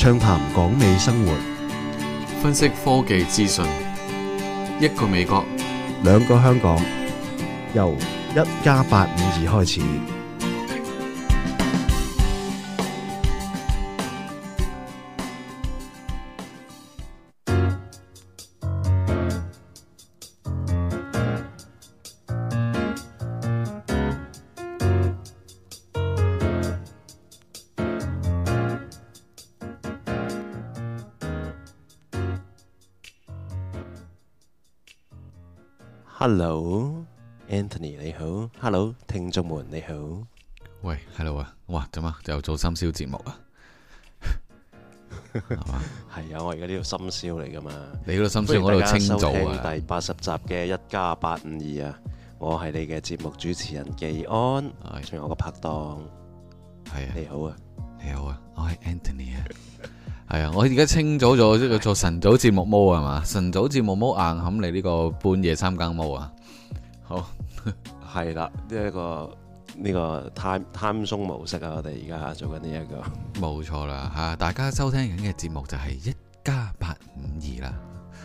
暢談港美生活， 分析科技資訊，一個美國， 兩個香港，由1+852開始。Hello，Anthony 你好 ，Hello， 聽眾們你好。 喂 ，Hello 啊，哇，點啊？又做深宵節目啊？係嘛？ 係啊，我而家呢度深宵嚟噶嘛。 你嗰度深宵，我嗰度清早啊。 第80集嘅1+852啊，我係你嘅節目主持人技安，仲有我個拍檔。 係啊， 你好啊， 你好啊，我係 Anthony 啊。係啊，我而家清早咗，即係做晨早節目毛係嘛？晨早節目毛硬冚你呢個半夜三更毛啊！好， 係啦，呢個 time zone 模式啊，我哋而家做緊呢一個，冇錯啦嚇！大家收聽緊嘅節目就係1+852啦。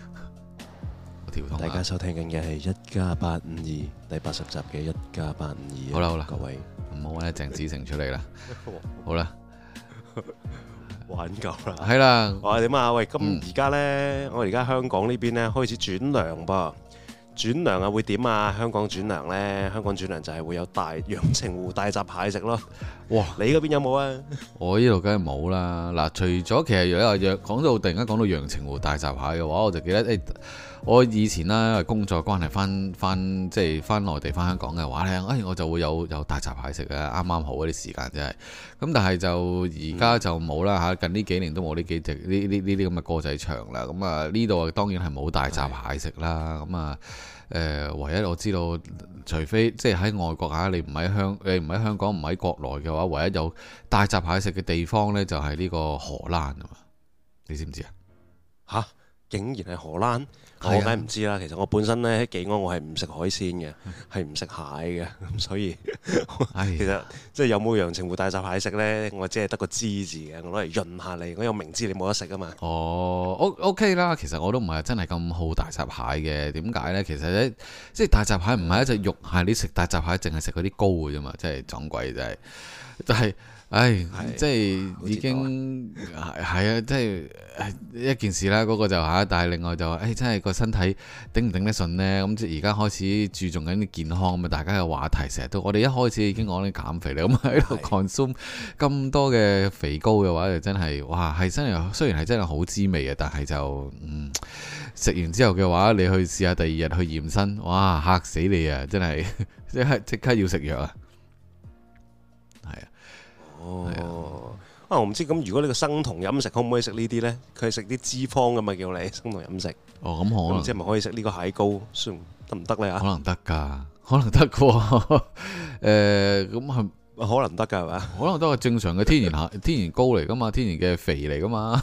大家收聽緊嘅係1+852第80集嘅1+852。 好啦好啦， 各位唔好揾鄭子誠出嚟啦。好啦。 玩夠啦， 係啦。 哇，點啊？喂，咁而家呢，我而家香港呢邊呢開始轉涼噃，轉涼啊會點啊？香港轉涼呢？香港轉涼就係會有陽澄湖大閘蟹食咯。哇！你嗰邊有冇啊？我呢度梗係冇啦。嗱，除咗其實講到突然間講到陽澄湖大閘蟹嘅話，我就記得我以前啦，因為工作關係翻即係翻內地翻香港嘅話咧，我就會有大閘蟹食嘅，啱啱好嗰啲時間真係。咁但係就而家就冇啦嚇，近呢幾年都冇呢幾隻呢啲咁嘅歌仔唱啦。咁啊呢度當然係冇大閘蟹食啦。咁啊唯一我知道，除非即係喺外國嚇，你唔喺香港唔喺國內嘅話，唯一有大閘蟹食嘅地方呢，就係呢個荷蘭啊嘛。你知唔知啊？ 嚇！竟然係荷蘭，我梗係唔知啦。其實我本身咧喺技安，我係唔食海鮮嘅，係唔食蟹嘅，咁所以其實即係有冇陽澄湖大閘蟹食咧，我只係得個知字嘅，我攞嚟潤下你。我又明知你冇得食啊嘛。 哦，OK 啦。其實我都唔係真係咁好大閘蟹嘅。點解咧？其實咧，即係大閘蟹唔係一隻肉蟹，你食大閘蟹淨係食嗰啲膏嘅啫嘛，真係撞鬼真係，就係。即係已經係啊，即係一件事啦。嗰個就但係另外就話，真係個身體頂唔頂得順呢？咁即係而家開始注重緊啲健康咁啊！大家嘅話題成日都，我哋一開始已經講緊減肥啦，咁喺度 consume 咁多嘅肥膏嘅話，就真係哇，係真係雖然係真係好滋味啊，但係就食完之後嘅話，你去試下第二日去驗身，哇嚇死你啊！真係即刻要食藥啊！係啊。 我唔知咁，如果你個生酮飲食可唔可以食呢啲呢？佢係食啲脂肪噶嘛，叫你生酮飲食。 咁可能唔知係咪可以食呢個蟹膏，算得唔得呢？ 可能得噶，可能得噶。咁係可能得噶係嘛？ 可能都係正常嘅天然膏嚟噶嘛，天然嘅肥嚟噶嘛。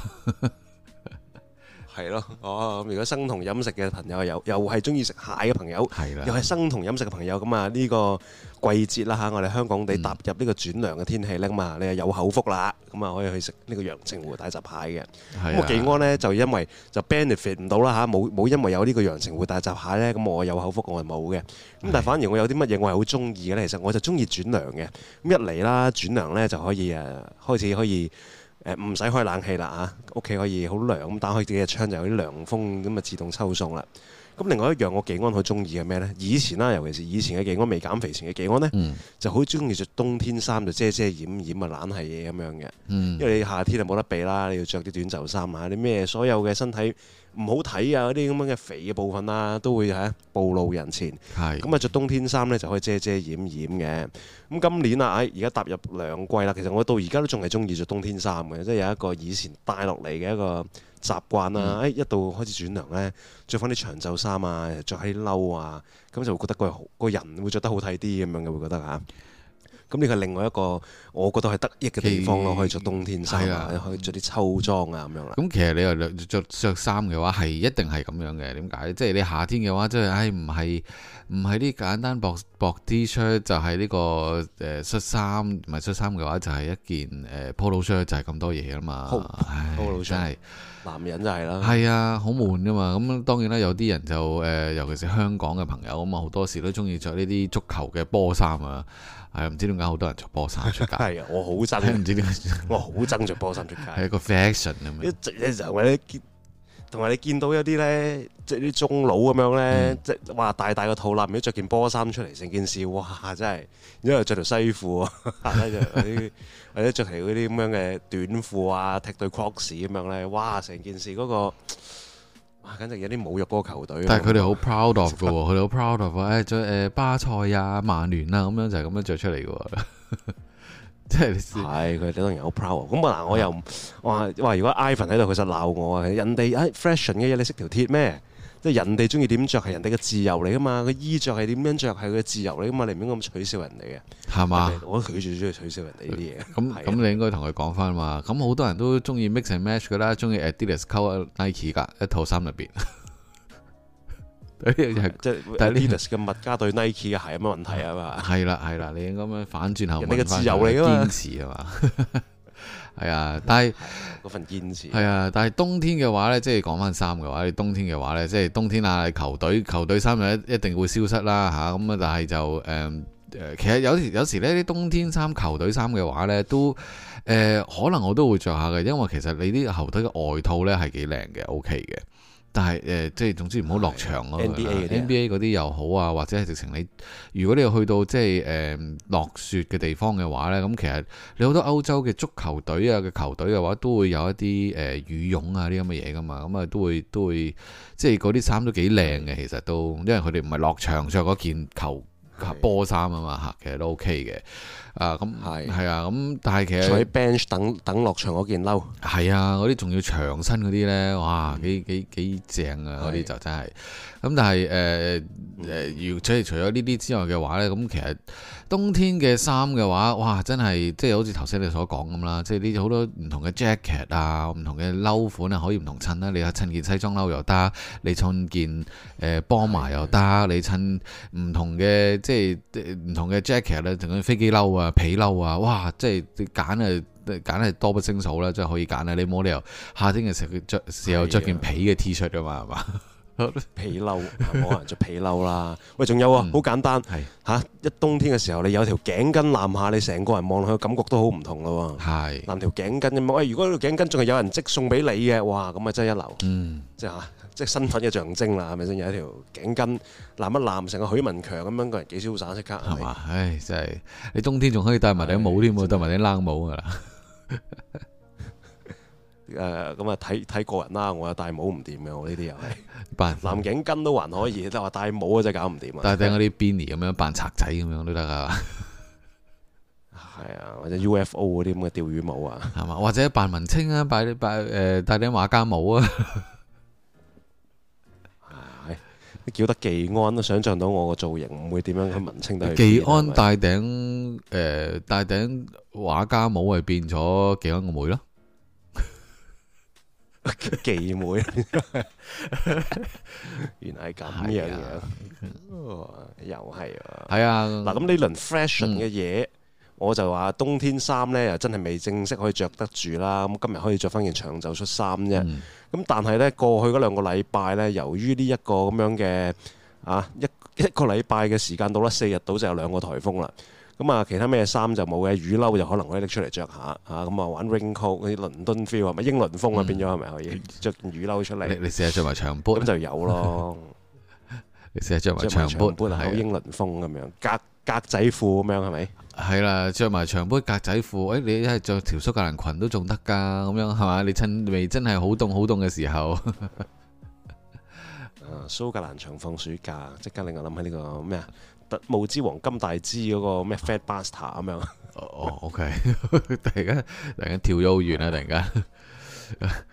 係咯，咁如果生酮飲食嘅朋友又係中意食蟹嘅朋友，又係生酮飲食嘅朋友，咁啊呢個季節啦嚇，我哋香港地踏入呢個轉涼嘅天氣咧嘛，你係有口福啦，咁啊可以去食呢個陽澄湖大閘蟹嘅。咁我技安呢，就因為就 benefit 唔到啦嚇，冇因為有呢個陽澄湖大閘蟹咧，咁我有口福我係冇嘅。咁但係反而我有啲乜嘢我係好中意嘅咧，其實我就中意轉涼嘅。咁一嚟啦，轉涼咧就可以開始可以。唔使開冷氣啦嚇，屋企可以好涼咁，打開自己嘅窗就有啲涼風咁啊，自動抽送啦。咁另外一樣我技安好中意嘅咩呢？以前啦，尤其是以前嘅技安未減肥前嘅技安呢，就好中意着冬天衫，就遮遮掩掩啊，懶係嘢咁樣嘅。因為你夏天就冇得避啦，你要着啲短袖衫啊，啲咩所有嘅身體唔好睇啊，嗰啲咁樣嘅肥嘅部分啦，都會暴露人前。咁啊，着冬天衫呢，就可以遮遮掩掩嘅。咁今年啊，而家踏入涼季啦，其實我到而家都仲係中意着冬天衫嘅，即係有一個以前帶落嚟嘅一個習慣啦。一到開始轉涼呢，着翻啲長袖衫啊，着喺啲褸啊，咁就會覺得個人會着得好睇啲咁樣嘅，會覺得嚇。 咁呢個係另外一個我覺得係得益嘅地方咯，可以着冬天衫啊， 啊可以着啲秋裝啊咁樣啦。 咁其實你又着衫嘅話係一定係咁樣嘅，點解？即係你夏天嘅話，即係唔係啲簡單薄 T 恤，就係呢個恤衫，唔係恤衫嘅話就係一件polo shirt，就係咁多嘢啊嘛。 polo shirt 真係男人就係啦。 係啊，好悶噶嘛。咁當然啦，有啲人就尤其是香港嘅朋友咁啊，好多時都中意着呢啲足球嘅波衫啊。係唔知點解好多人着波衫出街？ 係啊，我好憎，唔知點解，我好憎着波衫出街。係一個 fashion 咁樣。 一直就為你見，同埋你見到有啲咧，即係啲中佬咁樣咧，即係哇大個肚腩，如果着件波衫出嚟，成件事哇真係，然之後着條西褲啊，或者着條嗰啲咁樣嘅短褲啊，踢對 Crocs 咁樣咧，哇成件事嗰個。哇！簡直有啲侮辱嗰個球隊。 但係佢哋好 proud of 嘅喎，佢哋好 proud of 着巴塞啊、曼聯啊咁樣就係咁樣着出嚟嘅喎。即係係佢哋當然好 proud。咁嗱，我又話如果 Ivan 喺度，佢實鬧我啊！人哋fashion 嘅嘢，你識條鐵咩？即係人哋中意點着係人哋嘅自由嚟噶嘛，個衣着係點樣着係佢嘅自由嚟噶嘛，你唔應該咁取笑人哋嘅， 係嘛？ 我拒絕中意取笑人哋呢啲嘢。 咁你應該同佢講翻嘛。咁好多人都中意 mix and match 噶啦，中意 Adidas 溝 Nike 噶一套衫入邊。 即係 Adidas 嘅物加對 Nike 嘅鞋有乜問題啊嘛？ 係啦，你應該咁樣反轉頭問翻。 人哋嘅自由嚟噶嘛？ 堅持係嘛？係啊，但係嗰份堅持係啊，但係冬天嘅話呢，即係講翻衫嘅話，你冬天嘅話呢，即係冬天啊，球隊衫就一定會消失啦嚇。咁啊，但係就其實有時呢啲冬天衫、球隊衫嘅話呢，都可能我都會着下嘅，因為其實你啲球隊嘅外套呢係幾靚嘅，OK 嘅。但係即係總之唔好落場咯。NBA 嗰啲又好啊，或者係直情你，如果你去到即係落雪嘅地方嘅話呢，咁其實你好多歐洲嘅足球隊啊嘅球隊嘅話，都會有一啲羽絨啊啲咁嘅嘢噶嘛，咁啊都會即係嗰啲衫都幾靚嘅，其實都因為佢哋唔係落場着嗰件波衫啊嘛嚇，其實都 OK 嘅。咁係啊，咁但係其實坐喺 bench 等落場嗰件褸， 係啊，嗰啲仲要長身嗰啲呢，哇，幾正啊！嗰啲就真係。咁但係即係除咗呢啲之外嘅話呢，咁其實冬天嘅衫嘅話，哇，真係即係好似頭先你所講咁啦，即係呢好多唔同嘅 jacket 啊，唔同嘅褸款啊，可以唔同襯啦。你襯件西裝褸又得，你襯件波麻又得，你襯唔同嘅即係唔同嘅 jacket 咧，仲有飛機褸啊、皮褸啊，哇！即係你揀係多不勝數啦，即係可以揀啊！你冇理由夏天嘅時候着件皮嘅 T 恤㗎嘛，係嘛？ 皮褸冇人着皮褸啦。喂，仲有啊，好簡單嚇！一冬天嘅時候，你有條頸巾攬下，你成個人望落去感覺都好唔同咯喎。係攬條頸巾咁，喂，如果條頸巾仲係有人即送俾你嘅，哇！咁啊真係一流。即係身份嘅象徵啦，係咪先？有一條頸巾攬一攬，成個許文強咁樣，個人幾瀟灑，即刻係嘛？ 唉，真係你冬天仲可以戴埋頂帽添喎，戴埋頂冷帽㗎啦。 咁啊睇個人啦，我又戴帽唔掂嘅，我呢啲又係藍頸巾都還可以，但係話戴帽啊真係搞唔掂啊！ 戴頂嗰啲 beanie 咁樣扮賊仔咁樣都得啊！ 係啊，或者 UFO 嗰啲咁嘅釣魚帽啊， 係嘛？或者扮文青啊，戴頂畫家帽啊！ 叫得技安都想像到我個造型唔會點樣去文青得去。 技安戴頂畫家帽係變咗技安個妹咯。 技妹，原來係咁樣又係啊！係啊，嗱咁呢輪 fashion 嘅嘢，我就話冬天衫呢又真係未正式可以着得住啦。咁今日可以着翻件長袖恤衫啫。咁但係呢，過去嗰2個禮拜呢，由於呢一個咁樣嘅一個禮拜嘅時間到啦，4日到就有2個颱風啦。咁啊，其他咩衫就冇嘅，雨褸就可能可以拎出嚟着下嚇。咁啊，玩 raincoat 嗰啲倫敦 feel 係咪英倫風啊？變咗係咪可以着件雨褸出嚟？ 你試下着埋長 boot 咁就有咯。 你試下着埋長 boot 好英倫風咁樣，格仔褲咁樣係咪？ 係啦，着埋長 boot 格仔褲，你一係着條蘇格蘭裙都仲得㗎，咁樣係嘛？你趁未真係好凍嘅時候， 蘇格蘭長放暑假，即刻令我諗起呢個咩啊？特務之王金大之嗰個咩 Fat Bastard 咁樣。 OK，突然間跳咗好遠啊！突然間，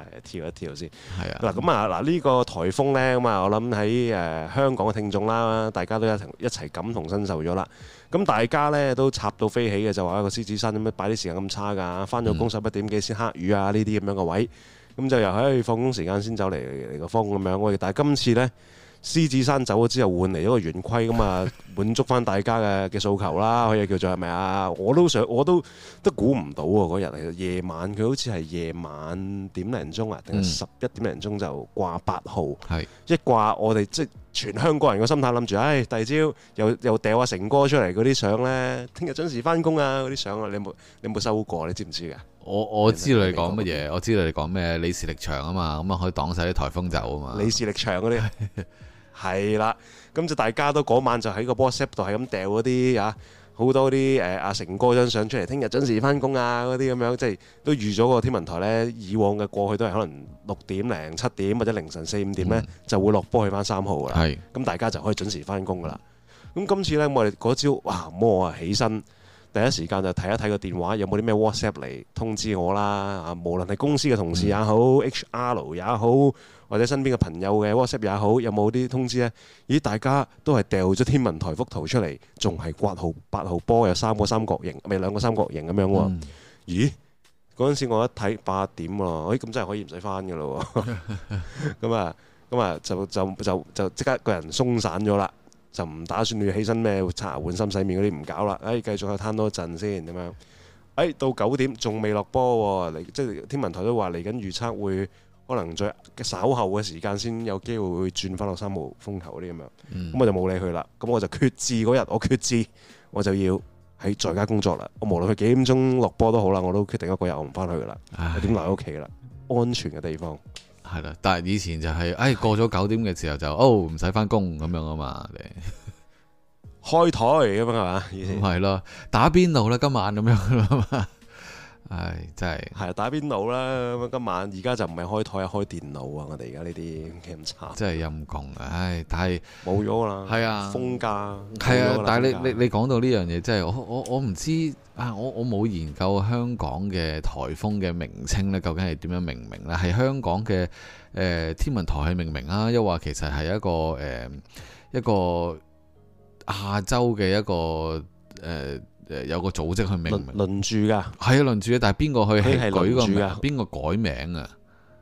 跳一跳先。 係啊。 嗱咁啊嗱呢個颱風咧咁啊，我諗喺香港嘅聽眾啦，大家都一齊感同身受咗啦。咁大家咧都插到飛起嘅，就話個獅子山點解擺啲時間咁差㗎？翻咗工11點幾先黑雨啊！呢啲咁樣嘅位，咁就又喺放工時間先走嚟個風咁樣。但係今次咧，獅子山走咗之後換嚟咗個圓規咁啊，滿足翻大家嘅訴求啦，可以叫做係咪啊？我都估唔到喎嗰日其實夜晚佢好似係夜晚點零鐘啊，定係11點零鐘就掛8號，一掛我哋即係全香港人個心態諗住，第二朝又掉阿成哥出嚟嗰啲相咧，聽日準時翻工啊嗰啲相啊，你有冇收過？你知唔知㗎？ 我知道你講乜嘢，我知道你講咩李氏力場啊嘛，咁啊可以擋晒啲颱風走啊嘛。李氏力場嗰啲係啦，咁就大家都嗰晚就喺個 WhatsApp 度係咁掉嗰啲好多啲阿成哥張相出嚟，聽日準時翻工啊嗰啲咁樣，即係都預咗個天文台呢。以往嘅過去都係可能6點零7點或者凌晨4、5點呢，就會落波去翻3號㗎啦。咁大家就可以準時翻工㗎啦。咁今次呢，我哋嗰朝我啊起身。第一時間就睇一睇個電話有冇啲咩 WhatsApp 嚟通知我啦。無論係公司嘅同事也好，HR 也好，或者身邊嘅朋友嘅 WhatsApp 也好，有冇啲通知呢？咦，大家都係掉咗天文台幅圖出嚟，仲係8號波，有3個三角形，咪2個三角形咁樣喎。咦，嗰陣時我一睇8點喎，咁真係可以唔使翻㗎咯喎。咁啊就即刻個人鬆散咗啦。就唔打算要起身咩刷牙換衫洗面嗰啲唔搞啦，繼續去攤多陣先咁樣。到9點仲未落波喎，即係天文台都話嚟緊預測會可能再稍後嘅時間先有機會會轉翻落3號風球嗰啲咁樣。咁我就冇理佢啦。咁我就決志嗰日，我決志我就要喺在家工作啦。我無論佢幾點鐘落波都好啦，我都決定嗰日我唔翻去噶啦，我點留喺屋企啦，安全嘅地方。係啦，但係以前就係過咗9點嘅時候就唔使翻工咁樣啊嘛， 開台咁樣係嘛？以前係咯，打邊爐啦今晚咁樣啦嘛，真係係打邊爐啦咁今晚，而家就唔係開台係開電腦啊！我哋而家呢啲咁差， 真係陰功啊！但係冇咗啦， 係啊， 風假係啊，但係你講到呢樣嘢，真係我唔知啊，我冇研究香港嘅颱風嘅名稱咧，究竟係點樣命名咧？係香港嘅天文台係命名啊，又話其實係一個亞洲嘅一個有個組織去命名， 輪住㗎， 係啊輪住嘅，但係邊個去舉個名？邊個改名啊？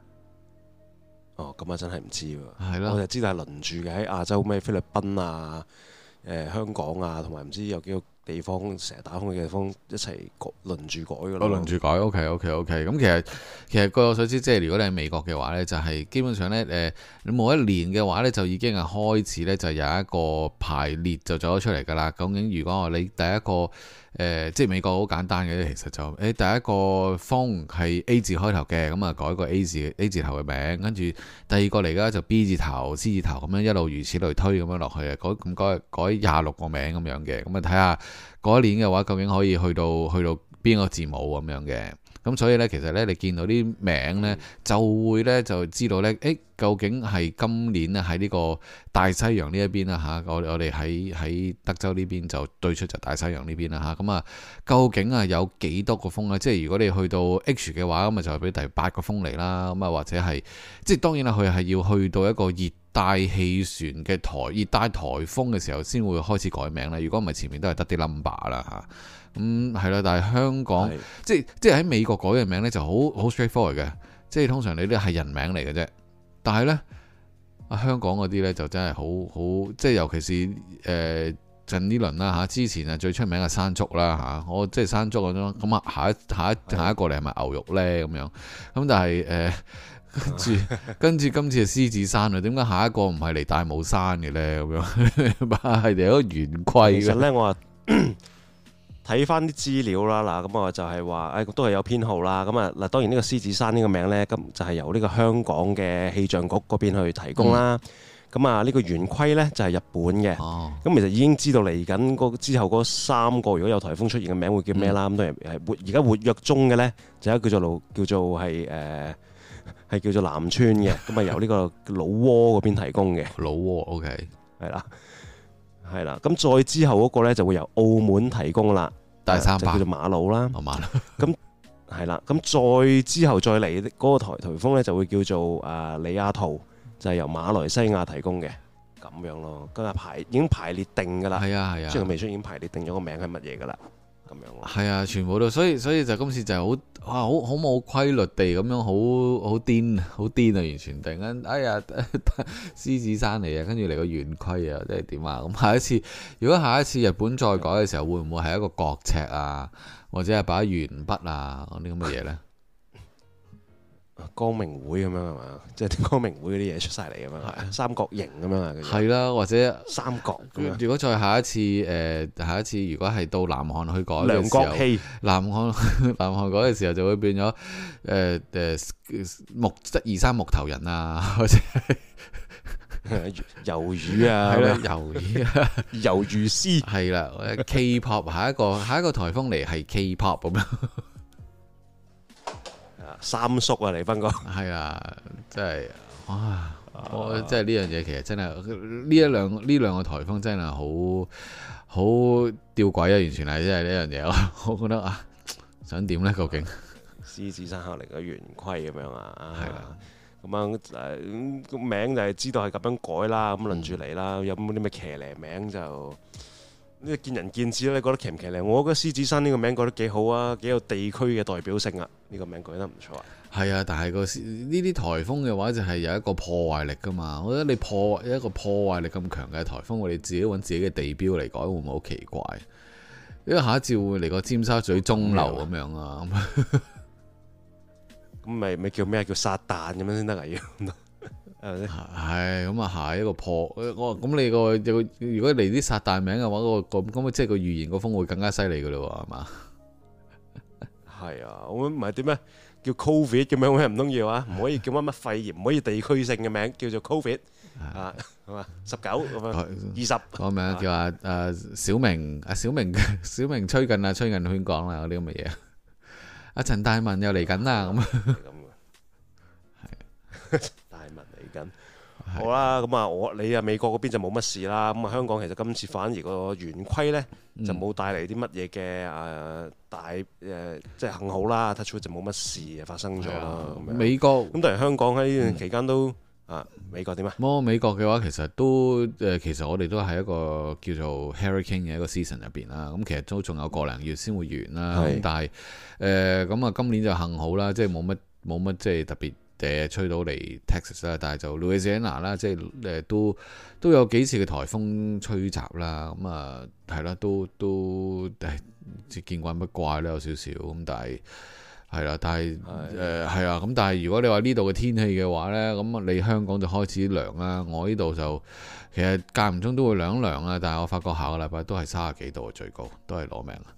咁啊真係唔知喎。 係咯， 我就知道係輪住嘅喺亞洲咩菲律賓啊、香港啊，同埋唔知有幾個地方成日打風嘅地方一齊輪住改㗎咯。輪住改 ，OK。咁其實據我所知，即係如果你喺美國嘅話呢，就係基本上呢，你每一年嘅話呢，就已經係開始呢，就有一個排列就做咗出嚟㗎啦。究竟如果你第一個即係美國好簡單嘅，其實就第一個風係 A 字開頭嘅，咁啊改個 A 字頭嘅名，跟住第二個嚟㗎就 B 字頭、C 字頭咁樣一路如此類推咁樣落去啊，改26個名咁樣嘅，咁啊睇下嗰一年嘅話究竟可以去到邊個字母咁樣嘅。咁所以呢，其實呢，你見到啲名呢，就會呢，就知道呢，究竟係今年呢喺呢個大西洋呢一邊啦嚇，我哋喺德州呢邊就對出就大西洋呢邊啦嚇，咁啊究竟啊有幾多個風呢？即係如果你去到 H 嘅話，咁啊就係俾第8個風嚟啦，咁啊或者係即係當然啦，佢係要去到一個熱帶氣旋嘅熱帶颱風嘅時候先會開始改名啦。如果唔係前面都係得啲 number 啦嚇。咁係啦，但係香港即係喺美國改嘅名呢就好 straightforward 嘅，即係通常你都係人名嚟嘅啫。但係呢，香港嗰啲呢就真係好即係尤其是近呢輪啦嚇，之前啊最出名嘅山竹啦嚇，我即係山竹嗰種咁啊，下一個嚟係咪牛肉呢？咁樣？咁但係跟住今次係獅子山啊，點解下一個唔係嚟大帽山嘅呢？咁樣係嚟一個圓規。 其實呢，我話睇翻啲資料啦，嗱咁我就係話，都係有編號啦。咁啊嗱，當然呢個獅子山呢個名呢，咁就係由呢個香港嘅氣象局嗰邊去提供啦。咁啊呢個圓規呢，就係日本嘅。咁其實已經知道嚟緊之後嗰3個如果有颱風出現嘅名會叫咩啦。咁當然而家活躍中嘅呢，就係叫做係叫做南村嘅。咁啊由呢個老撾嗰邊提供嘅。 老撾 OK 係啦，咁再之後嗰個呢就會由澳門提供啦， 大三巴就叫做馬路啦。 馬路， 咁係啦，咁再之後再嚟嗰個颱風呢，就會叫做里亞圖，就係由馬來西亞提供嘅咁樣咯。今日已經排列定㗎啦。係啊係啊，即係未出已經排列定咗個名係乜嘢㗎啦。咁樣咯。係啊，全部都所以就今次就係好冇規律地咁樣好癲啊！完全突然間哎呀獅子山嚟啊，跟住嚟個圓規啊，即係點啊？咁如果下一次日本再改嘅時候，會唔會係一個角尺啊？或者係把鉛筆啊嗰啲咁嘅嘢呢？ 光明會咁樣係嘛？即係啲光明會嗰啲嘢出晒嚟咁樣，三角形咁樣啊？ 係啦，或者三角。 如果再下一次如果係到南韓去改嘅時候， 量角器。南韓改嘅時候就會變咗723木頭人啊，或者魷魚啊， 係啦，魷魚啊， 魷魚絲係啦，K-pop 下一個颱風嚟係 K-pop 咁樣。 三叔啊，黎斌哥， 係啊，真係哇！即係呢樣嘢，其實真係呢兩個颱風真係好吊詭啊！完全係真係呢樣嘢，我覺得啊，想點呢？究竟獅子山下嚟嘅圓規咁樣啊？係啦，咁樣個名就係知道係咁樣改啦，咁輪住嚟啦。有冇啲咩騎呢名就？呢個見仁見智啦，你覺得騎唔騎呢？我覺得獅子山呢個名改得幾好啊，幾有地區嘅代表性啊！呢個名改得唔錯啊。係啊，但係呢啲颱風嘅話就係有一個破壞力噶嘛。我覺得你一個破壞力咁強嘅颱風，我哋自己揾自己嘅地標嚟改，會唔會好奇怪？因為下一次會嚟個尖沙咀鐘樓咁樣啊？ 咁咪叫咩？叫撒旦咁樣先得啊？要係咁啊，下一個破咁你如果嚟啲撒旦名嘅話，咁即係個預言個風會更加犀利噶咯，係嘛？ 係啊，我唔係點咩叫 Covid 咁樣咩？唔通要啊？唔可以叫乜乜肺炎，唔可以地區性嘅名叫做 Covid 啊？係嘛？19咁樣20 個名叫小明吹緊圈講啦，嗰啲咁嘅嘢。阿陳大文又嚟緊啦，咁係。 好啦，咁啊，你美國嗰邊就冇乜事啦。咁啊，香港其實今次反而個圓規呢，就冇帶嚟啲乜嘢嘅即係幸好啦，touch wood就冇乜事發生咗啦。 美國咁當然香港喺呢段期間都美國點啊？ 美國嘅話其實其實我哋都係一個叫做 hurricane 嘅一個 season 入邊啦。咁其實都仲有個零月先會完啦。咁但係咁啊，今年就幸好啦，即係冇乜即係特別。吹到嚟 Texas 啦，但係就 Louisiana 啦，即係都有幾次嘅颱風吹襲啦，咁啊係啦，都見慣不怪啦，有少少咁，但係係啦，但係係啊，咁但係如果你話呢度嘅天氣嘅話呢，咁你香港就開始涼啦，我呢度就其實間唔中都會涼啦，但係我發覺下個禮拜都係30幾度最高，都係攞命啊，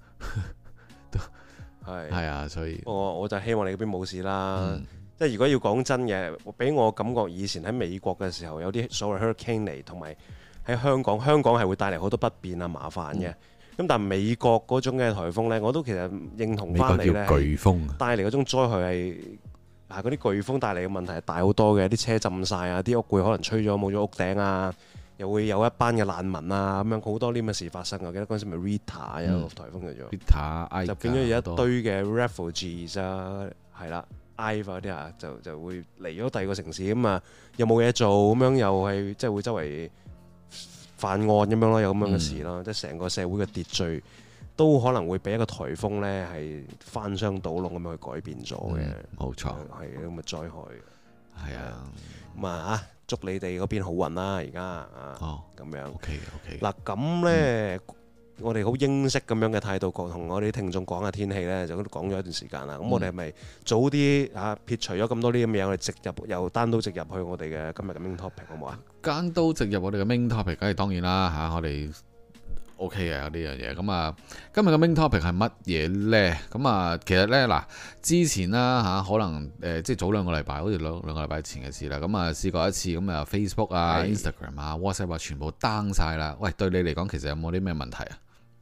係啊，所以我就希望你嗰邊冇事啦。即係如果要講真嘅，俾我感覺以前喺美國嘅時候有啲所謂 hurricane 嚟，同埋喺香港係會帶嚟好多不便啊麻煩嘅。咁但係美國嗰種嘅颱風呢，我都其實認同翻嚟呢， 颶風帶嚟嗰種災害係嗰啲颶風帶嚟嘅問題係大好多嘅，啲車浸晒啊，啲屋會可能吹咗冇咗屋頂啊，又會有一班嘅難民啊，咁樣好多呢咁嘅事發生。我記得嗰陣時咪 Rita 有個颱風叫做 Rita， 就變咗有一堆嘅 refugees 啊，係啦。嗰啲啊，就會嚟咗第二個城市咁啊，又冇嘢做咁樣，又係即係會周圍犯案咁樣咯，有咁樣嘅事咯，即係成個社會嘅秩序都可能會俾一個颱風呢係翻箱倒籠咁樣去改變咗嘅。 冇錯， 係咁嘅災害。 係啊， 咁啊祝你哋嗰邊好運啦！而家咁樣。 OK。 嗱咁呢。我哋好英式咁樣嘅態度同我哋啲聽眾講下天氣呢，就都講咗一段時間啦。咁我哋係咪早啲撇除咗咁多啲咁嘅嘢，我哋又單刀直入去我哋嘅今日嘅 main topic 好唔好啊？ 單刀直入我哋嘅 main topic，梗係當然啦嚇，我哋 OK 嘅呢樣嘢。咁啊，今日嘅 main topic 係乜嘢呢？咁啊，其實呢，嗱，之前啦嚇，可能即係早兩個禮拜，好似兩個禮拜前嘅事啦。咁啊，試過一次咁啊，Facebook 啊、Instagram 啊、WhatsApp 啊，全部 down 晒啦。喂，對你嚟講，其實有冇啲咩問題啊？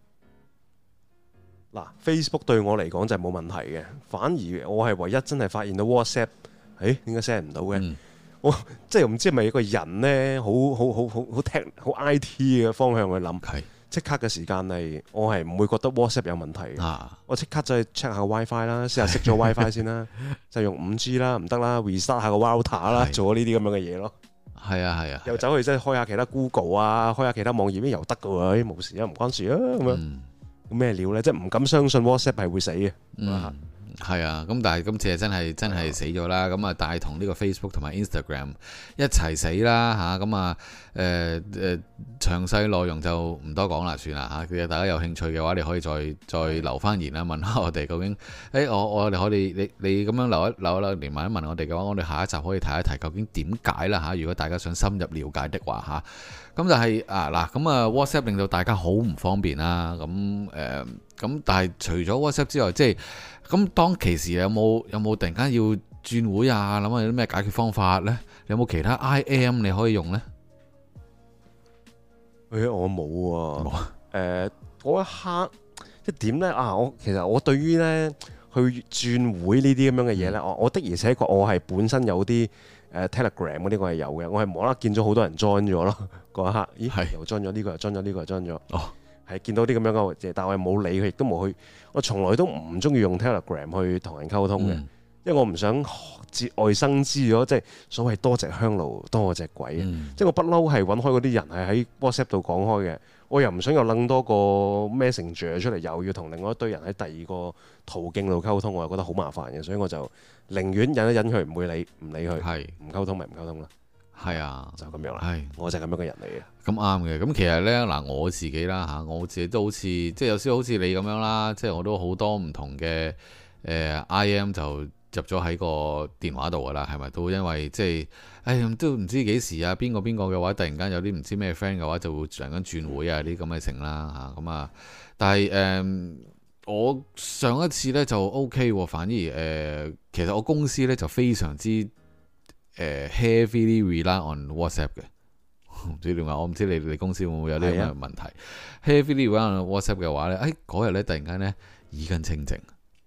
嗱 ，Facebook 對我嚟講就係冇問題嘅，反而我係唯一真係發現到 WhatsApp，點解 send 唔到嘅？我即係唔知係咪一個人呢，好 IT 嘅方向去諗， 即刻嘅時間係我係唔會覺得 WhatsApp 有問題嘅。我即刻就去 check 下 WiFi 啦，試下熄咗 WiFi 先啦，就用 5G 啦，唔得啦 ，restart 下個 router 啦，做呢啲咁樣嘅嘢咯。 係啊， 又走去即係開下其他 Google 啊，開下其他網頁又得嘅喎，冇事啊，唔關事啊咁樣。咩料咧？即係唔敢相信 WhatsApp 係會死嘅。 係啊，咁但係今次係真係死咗啦，咁啊帶同呢個 Facebook 同埋 Instagram 一齊死啦嚇，咁詳細內容就唔多講啦，算啦嚇。其實大家有興趣嘅話，你可以再留翻言啦，問下我哋究竟，我哋可以你咁樣留一連問一問我哋嘅話，我哋下一集可以提一提究竟點解啦嚇。如果大家想深入了解的話嚇，咁就係WhatsApp 令到大家好唔方便啦，咁但係除咗 WhatsApp 之外，即係咁當其時有冇突然間要轉會啊？諗下有啲咩解決方法呢？有冇其他 IM 你可以用呢？ 我冇喎。嗰一刻一點呢？其實我對於呢去轉會呢啲咁樣嘅嘢呢，我的而且確我係本身有啲Telegram 嗰啲我係有嘅，我係無啦啦見咗好多人 join 咗咯。嗰一刻，咦？又 join 咗呢個，又 join 咗呢個，又 join 咗。係見到啲咁樣嘅嘢，但係我係冇理佢，亦都冇去。我從來都唔中意用 Telegram 去同人溝通嘅，因為我唔想節外生枝咗，即係所謂多隻香爐多隻鬼。即係我不嬲係揾開嗰啲人係喺 WhatsApp 度講開嘅，我又唔想有撚多個 Messenger 出嚟，又要同另外一堆人喺第二個途徑度溝通，我又覺得好麻煩嘅，所以我就寧願忍一忍佢，唔會唔理佢，唔溝通咪唔溝通啦。係啊，就咁樣啦。我就係咁樣嘅人嚟嘅。咁啱嘅。咁其實呢，嗱我自己啦嚇，我自己都好似即係有少少好似你咁樣啦，即係我都好多唔同嘅IM 就入咗喺個電話度噶啦，係咪都因為即係都唔知幾時啊，邊個嘅話突然間有啲唔知咩 friend 嘅話就會突然間轉會啊啲咁嘅成啦嚇咁啊，但係我上一次呢就 OK 喎，反而其實我公司呢就非常之heavily rely on WhatsApp 嘅，唔知點解，我唔知你公司會唔會有呢咁嘅問題。heavily rely on WhatsApp 嘅話咧，嗰日咧突然間咧耳根清淨，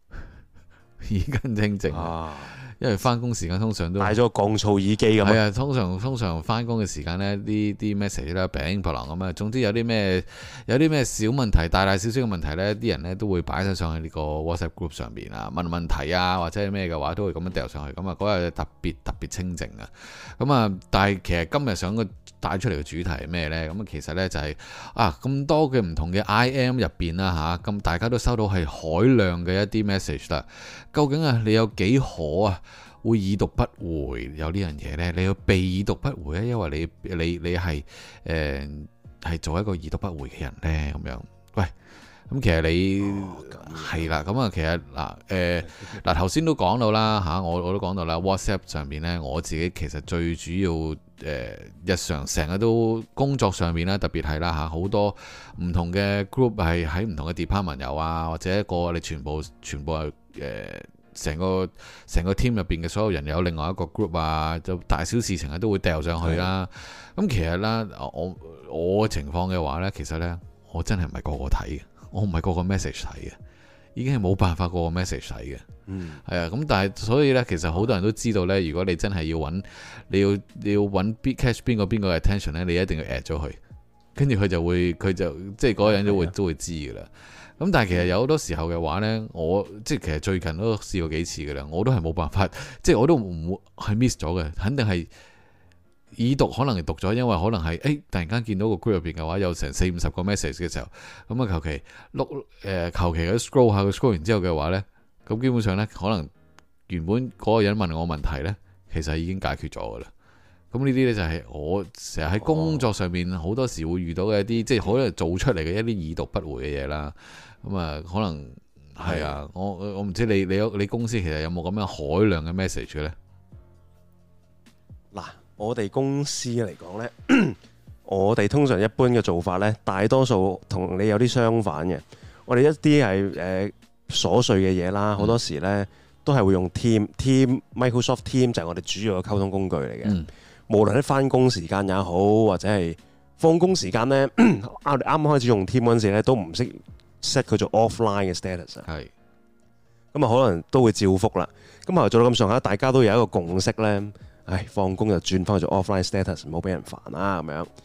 因為翻工時間通常都帶咗個降噪耳機咁。係啊，通常翻工嘅時間咧，啲 message 咧餅破浪咁啊。總之有啲咩小問題，大小嘅問題咧，啲人咧都會擺晒上去呢個 WhatsApp group 上邊啊，問問題啊或者係咩嘅話，都會咁樣掉上去。咁啊嗰日特別清靜啊。咁啊，但係其實今日想帶出嚟嘅主題係咩呢？咁其實呢就係咁多嘅唔同嘅 IM 入邊啦嚇，咁大家都收到係海量嘅一啲 message 啦。究竟你有幾可會已讀不回有呢樣嘢呢？你要被已讀不回咧，因為你係係做一個已讀不回嘅人呢。咁樣。喂，咁其實你係啦，咁其實嗱頭先都講到啦嚇，我都講到啦 WhatsApp 上面呢，我自己其實最主要日常成日都工作上面啦，特別係啦嚇，好多唔同嘅 group 係喺唔同嘅 department 有啊，或者你全部係成個 team 入邊嘅所有人有另外一個 group 啊，就大小事情都會掉上去啦。咁其實啦，我嘅情況嘅話呢，其實呢，我真係唔係個個睇嘅，我唔係個個 message 睇嘅，已經係冇辦法個個 message 睇嘅。係啊，咁但係所以呢，其實好多人都知道呢，如果你真係要揾，你要揾 catch 邊個嘅 attention 呢，你一定要 at 咗佢，跟住佢就即係嗰個人都會知噶啦。咁但係其實有好多時候嘅話呢，我即係其實最近都試過幾次噶啦，我都係冇辦法，即係我都唔會係 miss 咗嘅，肯定係已讀，可能係讀咗，因為可能係突然間見到個 group 入邊嘅話有成40-50個 message 嘅時候，咁求其求其 scroll 下，scroll 完之後嘅話呢，咁基本上呢，可能原本嗰個人問我問題呢，其實已經解決咗噶啦。咁呢啲呢，就係我成日喺工作上面好多時會遇到嘅一啲，即係可能做出嚟嘅一啲已讀不回嘅嘢啦。咁可能係啊，我唔知你公司其實有冇咁樣海量嘅 message 嘅呢？ 嗱，我哋公司嚟講呢，我哋通常一般嘅做法呢，大多數同你有啲相反嘅。我哋一啲係瑣碎嘅嘢啦，好多時呢都係會用 Microsoft Team 就係我哋主要嘅溝通工具嚟嘅。無論喺翻工時間也好，或者係放工時間呢，我哋啱啱開始用 Team 嗰陣時呢，都唔識 set 佢做 offline 嘅 status。係。咁可能都會照覆啦。咁後來做到咁上下，大家都有一個共識呢，放工就轉翻去做 offline status，唔好俾人煩啦咁樣。咁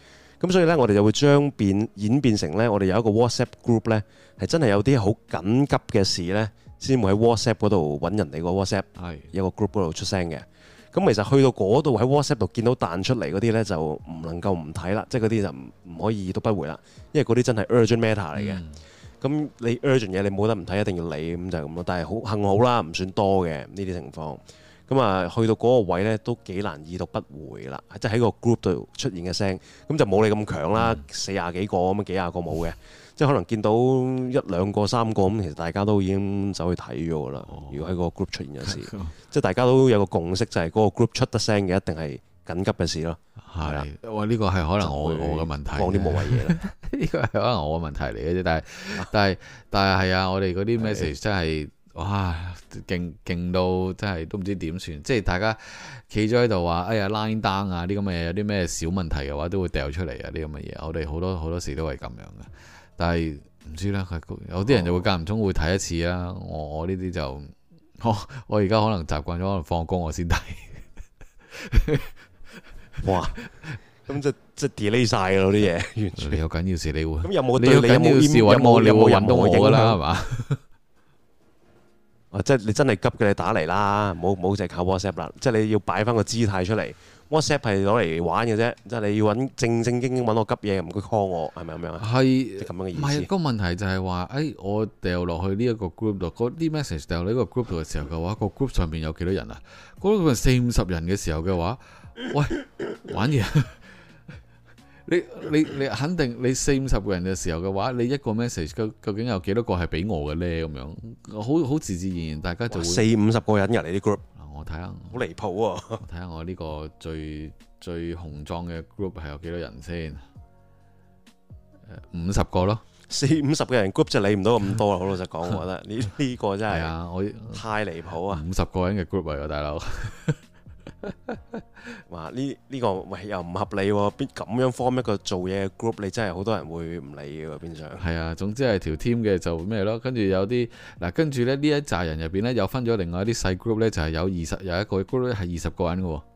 咁所以呢，我哋就會演變成呢，我哋有一個 WhatsApp group 呢，係真係有啲好緊急嘅事呢，先會喺 WhatsApp 嗰度揾人哋個 WhatsApp，有個 group 嗰度出聲嘅。咁其實去到嗰度喺 WhatsApp 度見到彈出嚟嗰啲呢，就唔能夠唔睇啦，即係嗰啲就唔可以已讀不回啦，因為嗰啲真係 urgent matter 嚟嘅。咁你 urgent 嘢你冇得唔睇，一定要理，咁就係咁咯。但係好幸好啦，唔算多嘅呢啲情況。咁啊，去到嗰個位呢，都幾難已讀不回啦，即係喺個 group 度出現嘅聲，咁就冇你咁強啦，40幾個咁，幾廿個冇嘅。即係可能見到1、2個、3個咁，其實大家都已經走去睇咗啦。如果喺個 group 出現嘅事，即係大家都有個共識，就係嗰個 group 出得聲嘅一定係緊急嘅事咯。係啦， 哇！呢個係可能我嘅問題， 講啲無謂嘢啦。 呢個係可能我嘅問題嚟嘅啫。但係係啊，我哋嗰啲 message 真係哇勁到真係都唔知點算。即係大家企咗喺度話，哎呀 line down 啊啲咁嘅嘢，有啲咩小問題嘅話都會掉出嚟啊啲咁嘅嘢。我哋好多時都係咁樣嘅。但係唔知啦，有啲人就會間唔中會睇一次啊。我呢啲就我而家可能習慣咗，可能放工我先睇。 哇！咁即係 delay 晒㗎嗰啲嘢，完全。 你有緊要事你會咁有冇你有緊要事揾我，你會揾到我㗎啦，係嘛？ 即係你真係急嘅，你打嚟啦，唔好淨係靠 WhatsApp 啦。即係你要擺翻個姿態出嚟。WhatsApp 係攞嚟玩嘅啫，即係你要揾正經揾我急嘢，唔該 call 我，係咪咁樣啊？係咁樣嘅意思。唔係個問題就係話，我掉落去呢一個 group 度，嗰啲 message 掉落呢個 group 度嘅時候嘅話，個 group 上邊有幾多人啊？嗰個40-50人嘅時候嘅話，喂，玩嘢！你肯定你40-50個人嘅時候嘅話，你一個 message 究竟有幾多個係俾我嘅咧？咁樣好自然，大家就會 40-50個人入嚟啲 group。 我睇下， 好離譜喎！ 睇下我呢個最雄壯嘅 group 係有幾多人先？50個咯 ，40-50個人 group 就理唔到咁多啦。好老實講，我覺得呢個真係我太離譜啊 ！50個人嘅 group 嚟㗎，大佬。 哇！呢個喂又唔合理喎，邊咁樣 form 一個做嘢嘅 group，你真係好多人會唔理嘅邊上。係啊，總之係條 team 嘅就咩咯，跟住有啲嗱，跟住咧呢一紮人入邊咧又分咗另外一啲細 group 咧，就係有一個 group 咧係20個人嘅。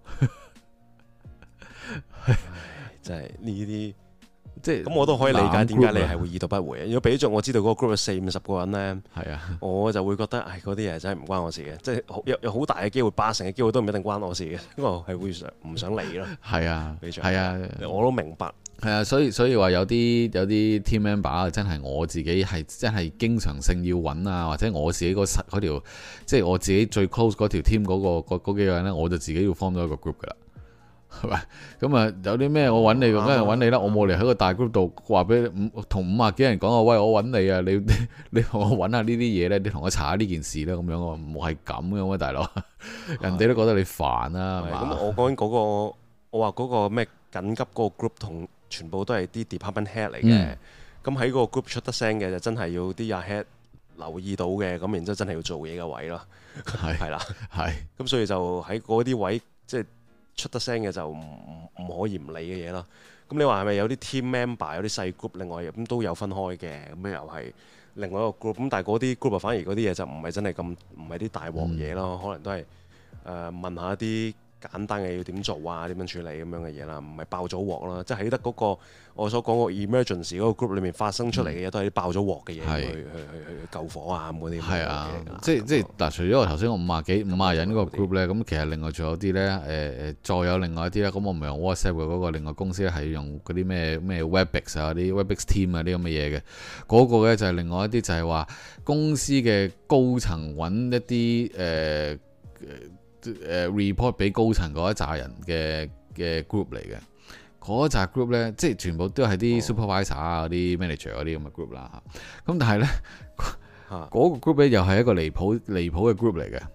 真係呢啲。 即係咁我都可以理解點解你係會已讀不回。如果俾咗我知道嗰個 group 有40-50個人呢，我就會覺得嗰啲嘢真係唔關我事嘅，即係有好大嘅機會，80%嘅機會都唔一定關我事嘅，因為我係會唔想理咯。係啊，我都明白。係啊， 所以話有啲 team member 真係我自己係真係經常性要揾啊，或者我自己嗰條即係我自己最 close 嗰條 team 嗰幾個人呢，我就自己要 form 咗一個 group 噶啦。係咪咁啊？有啲咩我揾你，梗係揾你啦！我冇嚟喺個大 group 度話俾同50幾人講啊！喂，我揾你啊！你同我揾下呢啲嘢咧，你同我查下呢件事啦，咁樣我唔係咁嘅，大佬，人哋都覺得你煩啦，係嘛？ 咁我講緊嗰個，我話嗰個咩緊急嗰個 group 同全部都係啲 department head 嚟嘅。咁喺嗰個 group 出得聲嘅就真係要啲阿 head 留意到嘅，咁然之後真係要做嘢嘅位咯。係啦，係。咁所以就喺嗰啲位即係。出得聲嘅就唔可以唔理嘅嘢咯。咁你話係咪有啲 team member 有啲細 group，另外咁都有分開嘅，咁又係另外一個 group。咁但係嗰啲 group 反而嗰啲嘢就唔係真係咁，唔係啲大鑊嘢咯。可能都係問下一啲簡單嘅要點做啊，點樣處理咁樣嘅嘢啦，唔係爆咗鑊啦。即係喺得嗰個我所講個 emergency 嗰個 group 裏面發生出嚟嘅嘢，都係啲爆咗鑊嘅嘢，去救火啊咁嗰啲。係啊， 即係嗱，除咗我頭先我50人嗰個 group 咧，咁其實另外仲有啲咧，再有另外一啲咧，咁我唔係用 WhatsApp 嘅嗰個，另外公司咧係用嗰啲咩 Webex 啊、啲 Webex Team 啊啲咁嘅嘢嘅，嗰個咧就係另外一啲就係話公司嘅高層揾一啲report 俾高層嗰一紮人嘅 group 嚟嘅，嗰一紮 group 咧，即係全部都係啲 supervisor 啊、嗰啲 manager 嗰啲咁嘅 group 啦。咁但係咧，嗰個 group 咧又係一個離譜嘅 group 嚟嘅。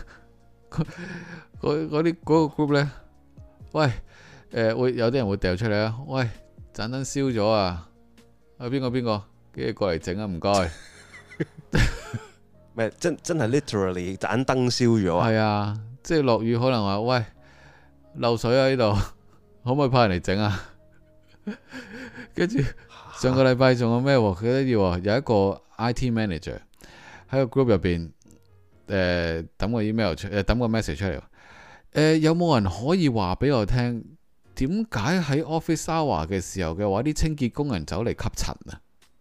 嗰個 group 咧，喂，會有啲人會掉出嚟啊！喂，盞燈燒咗啊！邊個跟住過嚟整啊！唔該。 咩？真係 literally 盞燈燒咗啊！ 係啊。即係落雨可能話喂漏水啊，呢度可唔可以派人嚟整啊？跟住上個禮拜仲有咩？佢都要有一個 IT manager 喺個 group 入邊抌個 email 出抌個 message 出嚟。有冇人可以話俾我聽點解喺 office hour 嘅時候嘅話，啲清潔工人走嚟吸塵啊？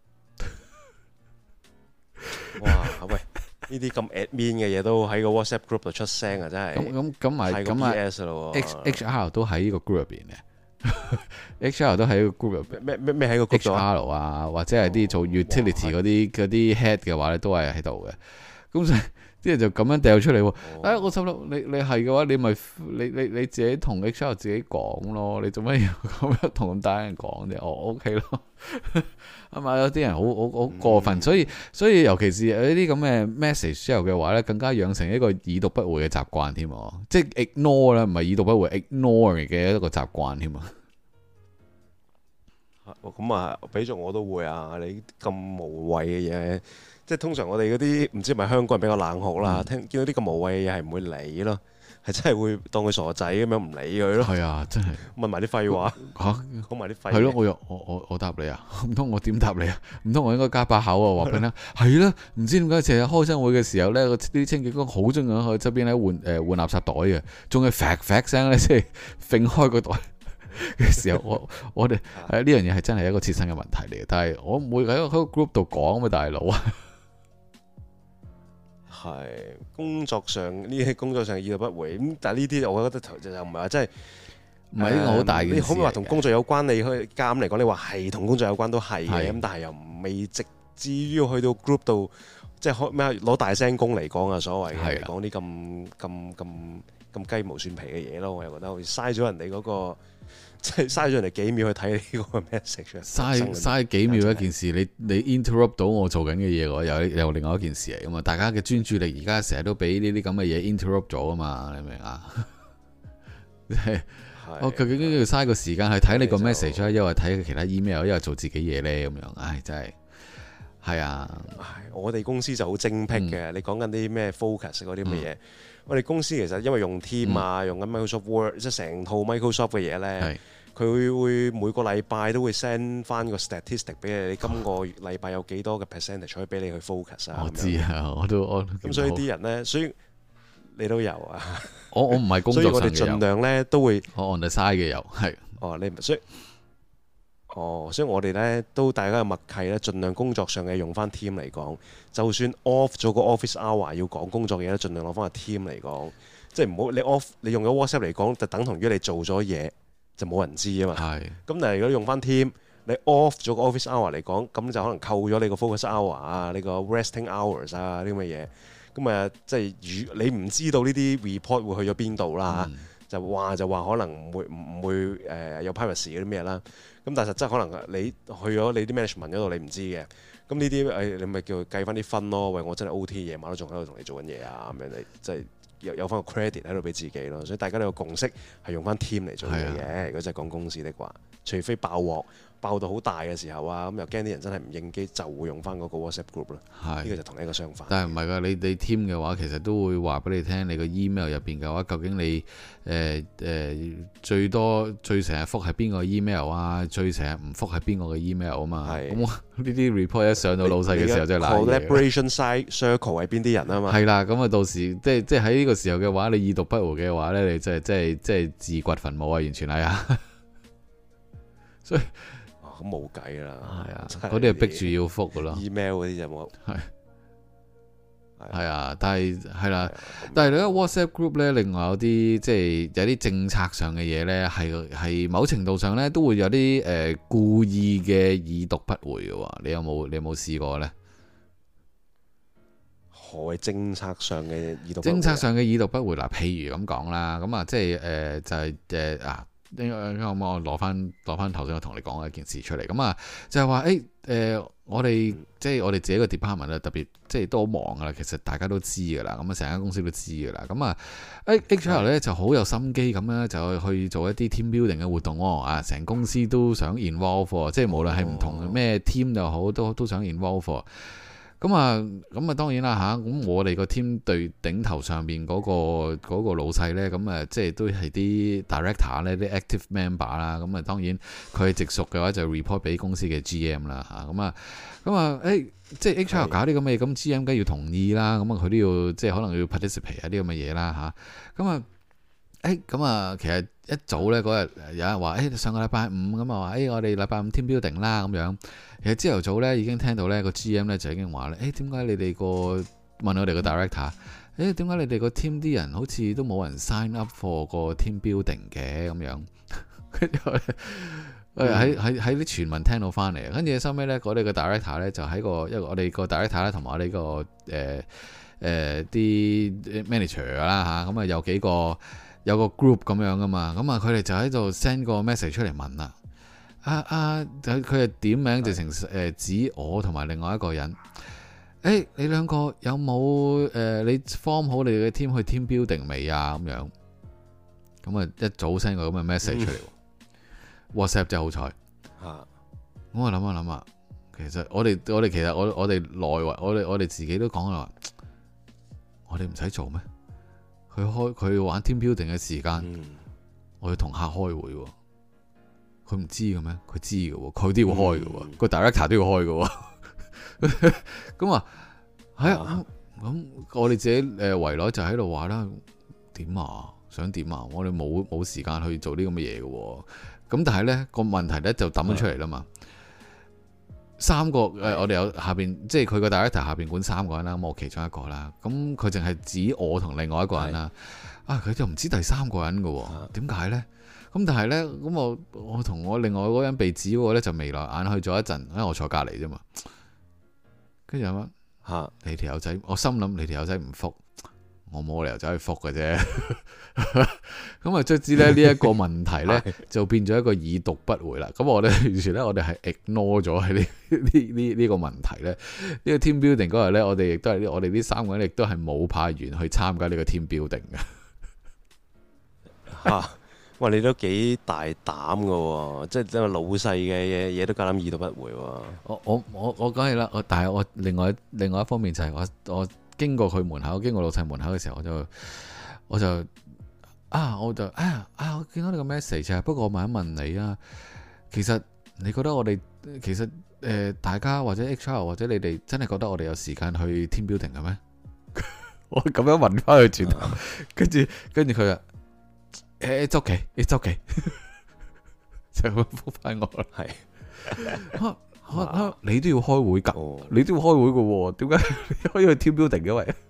哇！喂，呢啲咁 admin 嘅嘢都喺個 WhatsApp group 度出聲啊！真係咁咪咁啊 HR 都喺呢個 group 入邊嘅，HR 都喺個 group 入邊。 咩喺個 group 度 HR 啊，或者係啲做 utility 嗰啲 head 嘅話咧，都係喺度嘅。咁所以啲人就咁樣掉出嚟喎。我心諗你係嘅話，你咪你自己同 HR 自己講咯。你做咩要咁樣同咁大人講啫？OK 咯。係咪有啲人好過分？所以尤其是有啲咁嘅 message 之後嘅話咧，更加養成一個已讀不回嘅習慣添。即係 ignore 啦，唔係已讀不回 ignore 嘅一個習慣添啊。 咁啊，俾咗我都會啊！你咁無謂嘅嘢，即係通常我哋嗰啲唔知係咪香港人比較冷酷啦，見到啲咁無謂嘅嘢係唔會理咯，係真係會當佢傻仔咁樣唔理佢咯。 係啊，真係問埋啲廢話嚇，講埋啲廢話。 係咯，我答你啊，唔通我點答你啊？唔通我應該加把口啊？話俾你聽係啦，唔知點解成日開新會嘅時候咧，啲清潔工好中意喺側邊咧換垃圾袋嘅，仲係發聲咧，即係揈開個袋嘅時候，我哋呢樣嘢係真係一個切身嘅問題嚟嘅，但係我唔會喺個 group 度講嘛，大佬啊。 係工作上呢啲工作上已讀不回咁，但係呢啲我覺得就唔係話真係唔係呢個好大嘅事。 你可唔可以話同工作有關？你可以啱嚟講，你話係同工作有關都係嘅，咁但係又未直至於去到 group 度，即係咩攞大聲公嚟講啊，所謂嘅講啲咁雞毛蒜皮嘅嘢咯，我又覺得好似嘥咗人哋嗰個。即係嘥咗人哋幾秒去睇呢個 message， 嘥幾秒一件事，你 interrupt 到我做緊嘅嘢喎，又另外一件事嚟噶嘛。大家嘅專注力而家成日都俾呢啲咁嘅嘢 interrupt 咗啊嘛，你明唔明啊？我究竟要嘥個時間去睇你個 message，因為睇其他 email，因為做自己嘢咧咁樣，唉，真係係啊！ 我哋公司就好精闢嘅，你講緊啲咩 focus 嗰啲咁嘅嘢。我哋公司其實因為用 Team 啊，用緊 Microsoft Word，即係成套 Microsoft 嘅嘢咧，佢會每個禮拜都會 send 翻個 statistic 俾你，你今個禮拜有幾多嘅 percentage 可以俾你去 focus 啊？ 我知啊，我都咁所以啲人咧，所以你都有啊。 我唔係工作上嘅有， 所以我哋盡量咧都會我 on the side 嘅有係。 你唔所以。所以我哋咧都大家嘅默契咧，盡量工作上嘅用翻 Team 嚟講，就算 off 咗個 office hour 要講工作嘅嘢咧，盡量攞翻個 Team 嚟講，即係唔好你 off 你用咗 WhatsApp 嚟講，就等同於你做咗嘢就冇人知啊嘛。係。咁但係如果你用翻 Team，你 off 咗個 office hour 嚟講，咁就可能扣咗你個 focus hour 啊，呢個 resting hours 啊啲咁嘅嘢。咁啊，即係你唔知道呢啲 report 會去咗邊度啦。就話可能唔會有 privacy 嗰啲咩啦，咁但係實質可能你去咗你啲 management 嗰度你唔知嘅，咁呢啲你咪叫佢計翻啲分咯。喂，我真係 OT 夜晚都仲喺度同你做緊嘢啊，咁樣你即係有翻個 credit 喺度俾自己咯。所以大家都有共識係用翻 team 嚟做嘢嘅。如果真係講公司的話，除非爆鑊爆到好大嘅時候啊，咁又驚啲人真係唔應機，就會用翻嗰個 WhatsApp group 咯。呢個就同一個相反。 但係唔係㗎，你 team 嘅話，其實都會話俾你聽，你個 email 入邊嘅話，究竟你最多最成日覆係邊個 email 啊？最成日唔覆係邊個嘅 email 啊嘛？咁呢啲 report 一上到老細嘅時候，真係難嘅。 Collaboration side circle 係邊啲人啊嘛？ 係啦，咁啊到時即係喺呢個時候嘅話，你已讀不回嘅話咧，你真係自掘墳墓啊！完全係啊，所以。 咁冇計啦， 係啊，嗰啲係逼住要覆噶咯。 email 嗰啲就冇。 係啊，但係你喺 WhatsApp group 咧，另外有啲即係有啲政策上嘅嘢咧，係某程度上咧都會有啲故意嘅已讀不回嘅喎。你有冇試過咧？ 何謂政策上嘅已讀不回？ 政策上嘅已讀不回嗱，譬如咁講啦，咁啊即係就係啊。應該我攞翻頭先我同你講嘅一件事出嚟，咁啊就係話我哋即係我哋自己個 department 咧，特別即係都好忙噶啦，其實大家都知噶啦，咁啊成間公司都知噶啦，咁啊 HR 咧就好有心機咁樣就去做一啲 team building 嘅活動喎，啊成公司都想 involve，即係無論係唔同嘅咩 team 又好，都想 involve。咁啊，當然啦嚇，咁我哋個 team 對頂頭上邊嗰個老細呢，咁啊，即係都係啲 director 呢，啲 active member 啦，咁啊，當然佢係直屬嘅話就 report 俾公司嘅 GM 啦嚇，即係 HR 搞啲咁嘅嘢，咁 GM 梗係要同意啦，咁啊佢都要即係可能要 participate 啲咁嘅嘢啦嚇，咁啊咁啊，其實一早咧嗰日有人話上個禮拜五咁啊話我哋禮拜五 team building 啦咁樣。其實朝頭早咧已經聽到咧個 GM 咧就已經話咧點解你哋問我哋個 director 點解你哋個 team 啲人好似都冇人 sign up for 個 team building 嘅咁樣。跟住喺啲傳聞聽到翻嚟，跟住收尾咧我哋個 director 咧就喺因為我哋個 director 咧同埋我哋個啲 manager 啦嚇，咁啊有個 group 咁樣噶嘛，咁啊佢哋就喺度 send 個 message 出嚟問啦，佢係點名直情指我同埋另外一個人，你兩個有冇你 form 好你哋嘅 team 去 team building 未啊咁樣，咁啊一早 send 個咁嘅 message 出嚟，WhatsApp 真係好彩，我諗下，其實我哋其實我哋內圍我哋自己都講啦。我哋唔使做咩？佢玩 team building 嘅時間，我要同客開會喎。佢唔知嘅咩？佢知嘅喎，佢都要開嘅喎，個 director 都要開嘅喎。咁啊，咁我哋自己圍內就喺度話啦，點啊？想點啊？我哋冇時間去做啲咁嘅嘢嘅喎。咁但係咧個問題咧就抌咗出嚟啦嘛。三個我哋有下邊，即係佢個 director 下邊管3個人啦，咁我其中一個啦。咁佢淨係指我同另外一個人啦。佢就唔知第3個人嘅喎，點解呢？咁但係呢，咁我同我另外嗰個人被指嗰個咧就眉來眼去咗一陣，因為我坐隔離啫嘛。跟住有乜你條友仔，我心諗你條友仔唔覆。我冇理由走去覆嘅啫，咁啊，卒之咧呢一個問題咧就變咗一個已讀不回啦。咁我哋完全咧，我哋係 ignore 咗喺呢個問題咧。呢個 team building 嗰日咧，我哋亦都係我哋呢3個人亦都係冇派員去參加呢個 team building 嘅。 哇！你都幾大膽㗎喎，即係老細嘅嘢都夠膽已讀不回喎。 我梗係啦，但係我另外一方面就係我。經過佢門口，經過老細門口嘅時候，我就我見到你個 message 啊。不過我問一問你啊，其實你覺得我哋大家或者 HR 或者你哋真係覺得我哋有時間去 team building 嘅咩？我咁樣問翻佢轉頭，跟住佢啊，it's okay，就咁覆翻我啦，係。你都要開會噶，你都要開會嘅喎，點解你可以去 team building 嘅喂？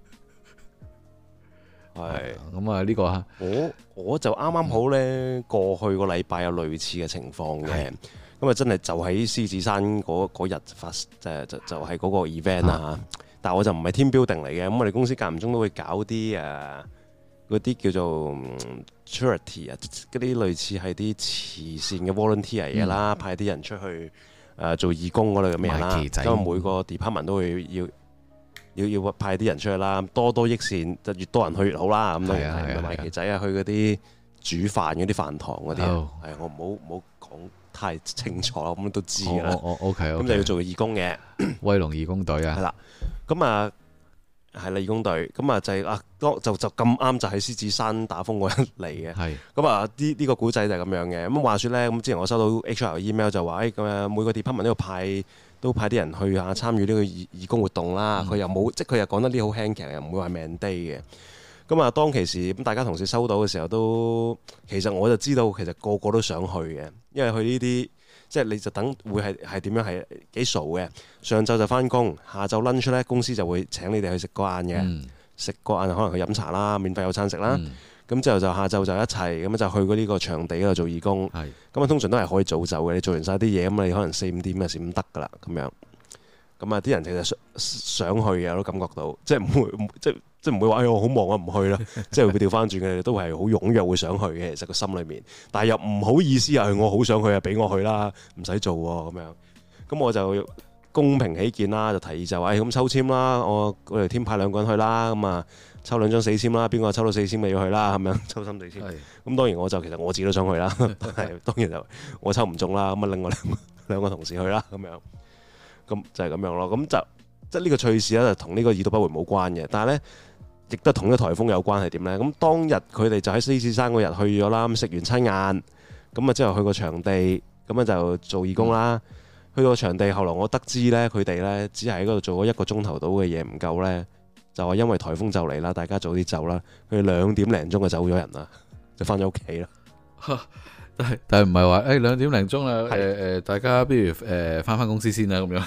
係咁啊，呢個我就啱啱好咧，過去個禮拜有類似嘅情況嘅，咁啊真係就喺獅子山嗰日發，就係嗰個 event 啦。但係我就唔係 team building 嚟嘅，咁我哋公司間唔中都會搞啲嗰啲叫做 charity 啊，嗰啲類似係啲慈善嘅 volunteer 嘢啦，派啲人出去。做義工嗰類咁嘅嘢啦，因為每個 department 都會要派啲人出去啦，多益善，就越多人去越好啦。咁當然係賣旗仔啊，去嗰啲煮飯嗰啲飯堂嗰啲，我唔好講太清楚啦，咁都知㗎啦。 OK， 咁就要做義工嘅威龍義工隊啊， 係啦，咁啊。係義工隊，咁啊就係就咁啱就喺獅子山打風嗰日嚟嘅。係咁啊，呢個古仔就係咁樣嘅。咁話說咧，咁之前我收到 HR email 就話，咁啊每個 department 都派啲人去下參與呢個義工活動啦。佢又冇，即係佢又講得啲好輕騎，又唔會話 mandate 嘅。咁啊，當其時咁大家同事收到嘅時候都，其實我就知道其實個個都想去嘅，因為去呢啲。即係你就等會係點樣係幾傻嘅？上晝就翻工，下晝 lunch 咧公司就會請你哋去食個晏嘅，食個晏可能去飲茶啦，免費有餐食啦。咁之後就下晝就一齊咁就去過呢個場地嗰度做義工。咁啊通常都係可以早走嘅，你做完晒啲嘢咁你可能4-5點嘅時唔得㗎啦咁樣。咁啊啲人其實想去嘅，我都感覺到，即係唔會即係唔會話我好忙啊唔去啦，即係會調翻轉嘅，都係好踴躍會想去嘅，其實個心裏面，但係又唔好意思啊，我好想去啊，俾我去啦，唔使做喎咁樣。咁我就公平起見啦，就提議就話咁抽籤啦，我哋 team 派2個人去啦，咁啊抽2張死籤啦，邊個抽到死籤咪要去啦，咁樣抽心死籤。咁當然其實我自己都想去啦，係當然就我抽唔中啦，咁啊另外兩個同事去啦，咁樣。咁就係咁樣咯，咁即係呢個趣事咧，就同呢個已讀不回冇關嘅，但係咧亦都同呢個颱風有關係點咧？咁當日佢哋就喺獅子山嗰日去咗啦，咁食完餐晏，咁啊之後去個場地，咁啊就做義工啦。去到場地，後來我得知咧，佢哋咧只係喺嗰度做咗1個鐘頭到嘅嘢，唔夠咧， 就話因為颱風就嚟啦，大家早啲走啦。佢哋2點零鐘就走咗人啦，就翻咗屋企啦。 但係唔係話2點零鐘啦，大家不如翻公司先啦咁樣。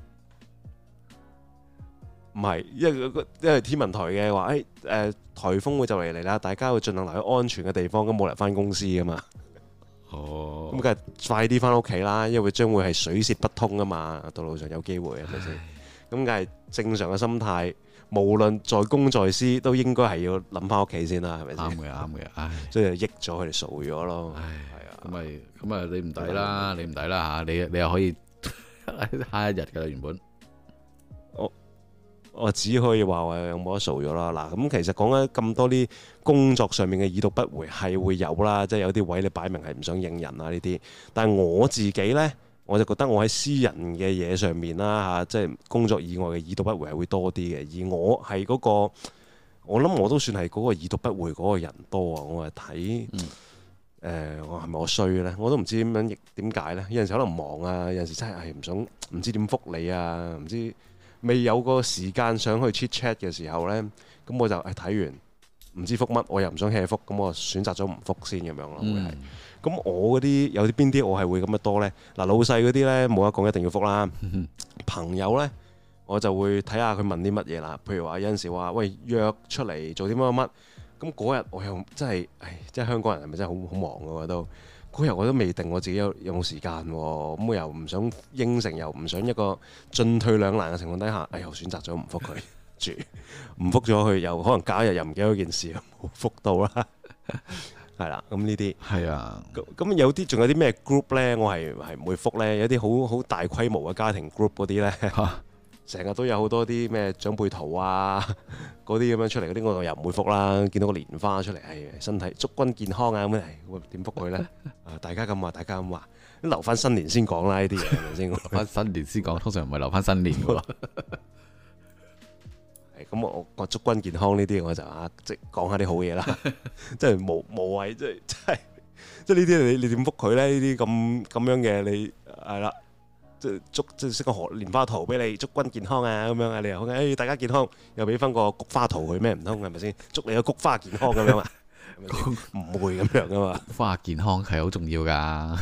唔係，因為天文台嘅話，颱風會就嚟啦，大家會盡量留喺安全嘅地方，咁冇人翻公司噶嘛。哦，咁梗係快啲翻屋企啦，因為將會係水泄不通啊嘛，道路上有機會係咪先？咁梗係正常嘅心態，無論在公在私，都應該係要諗翻屋企先啦，係咪先？啱嘅，啱嘅，唉，所以就益咗佢哋傻咗咯。係啊， 咁啊，你唔抵啦，你唔抵啦嚇，你又可以下一日㗎啦，原本。 我只可以話有冇得數咗啦。嗱，咁其實講緊咁多啲工作上面嘅已讀不回係會有啦，即係有啲位你擺明係唔想應人啊呢啲。但係我自己呢，我就覺得我喺私人嘅嘢上面啦嚇，即係工作以外嘅已讀不回係會多啲嘅。而我係嗰個，我諗我都算係嗰個已讀不回嗰個人多啊。我係睇我係咪我衰呢？我都唔知點解呢。有陣時可能忙啊，有陣時真係唔想唔知點覆你啊，唔知。未有個時間上去 chit chat 嘅時候呢，咁我就睇完唔知覆乜，我又唔想 hea 覆，咁我選擇咗唔覆先咁樣咯。會係咁我嗰啲有啲邊啲我係會咁樣多呢？嗱，老細嗰啲呢，冇得講一定要覆啦。朋友呢，我就會睇下佢問啲乜嘢啦。譬如話有陣時話喂，約出嚟做啲乜乜乜，咁嗰日我又真係即係香港人係咪真係好忙㗎都？嗰日我都未定我自己有冇時間喎，咁我又唔想應承，又唔想一個進退兩難嘅情況底下，又選擇咗唔覆佢住，唔覆咗佢，又可能隔一日又唔記得嗰件事，冇覆到啦，係啦，咁呢啲係啊，咁有啲仲有啲咩 group 呢？我係唔會覆呢。有啲好大規模嘅家庭 group 嗰啲呢。成日都有好多啲咩長輩圖啊，嗰啲咁樣出嚟嗰啲，我又唔會覆啦。見到個蓮花出嚟，身體祝君健康啊咁樣，我點覆佢咧？大家咁話，大家咁話，留翻新年先講啦，呢啲嘢係咪先？留翻新年先講，通常唔係留翻新年嘅喎。咁我祝君健康呢啲，我就即係講下啲好嘢啦。即係無謂，即係呢啲你點覆佢咧？呢啲咁樣嘅你係啦。即係識個蓮花圖俾你，祝君健康啊咁樣啊，你又大家健康，又俾翻個菊花圖佢咩？唔通係咪先？祝你個菊花健康咁樣啊？唔會咁樣噶嘛？菊花健康係好重要噶。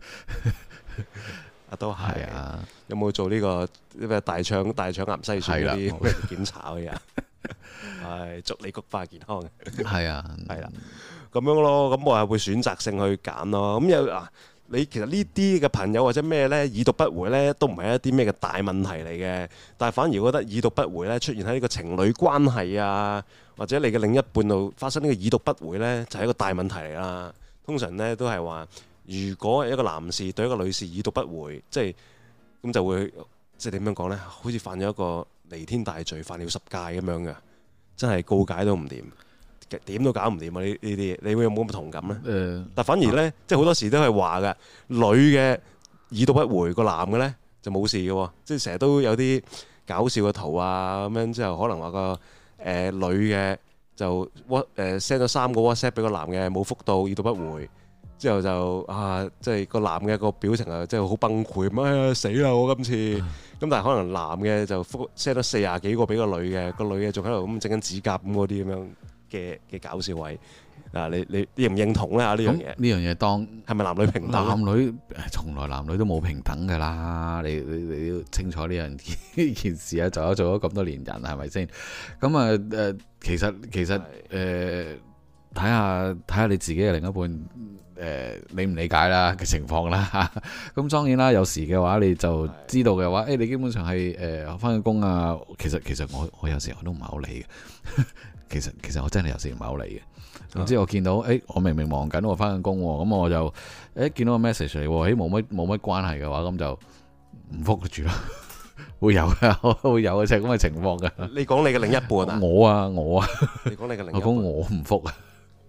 都係啊！有冇做呢個咩大腸癌篩選嗰啲檢查嗰啲啊？祝你菊花健康。係啊，係啦，咁樣咯。咁我係會選擇性去揀咯。咁有你其實呢啲嘅朋友或者咩呢，已讀不回呢，都唔係一啲咩嘅大問題嚟嘅，但係反而覺得已讀不回呢，出現喺呢個情侶關係啊，或者你嘅另一半度發生呢個已讀不回呢，就係一個大問題嚟啦。通常呢都係話，如果一個男士對一個女士已讀不回，即係咁就會即係點樣講呢？好似犯咗一個彌天大罪，犯了十戒咁樣嘅，真係告解都唔掂。點都搞唔掂啊！呢啲嘢，你會有冇咁同感呢？但反而呢，即係好多時都係話嘅，女嘅已讀不回，個男嘅呢就冇事嘅喎。即係成日都有啲搞笑嘅圖啊，咁樣之後可能話個女嘅就send 咗3個 WhatsApp 俾個男嘅，冇覆到，已讀不回。之後就即係個男嘅個表情啊，即係好崩潰咁死啦！我今次咁，但係可能男嘅就覆 send 咗40幾個俾個女嘅，個女嘅仲喺度咁整緊指甲咁嗰啲咁樣嘅搞笑位你認唔認同咧？呢樣嘢呢樣嘢當係咪男女平等？男女從來男女都冇平等㗎啦！你要清楚呢件事啊！做咗咁多年人係咪先？咁啊其實睇下你自己嘅另一半理唔理解啦嘅情況啦。咁當然啦，有時嘅話你就知道嘅話，你基本上係返工啊。其實我有時我都唔係好理嘅。其實我真係有時唔係好理嘅。總之我見到我明明忙緊，我返緊工喎，咁我就見到個 message 嚟喎，冇乜關係嘅話，咁就唔覆住啦。會有嘅，會有嘅，就係咁嘅情況嘅。你講你嘅另一半啊？我啊，你講你嘅另一半。我講我唔覆啊。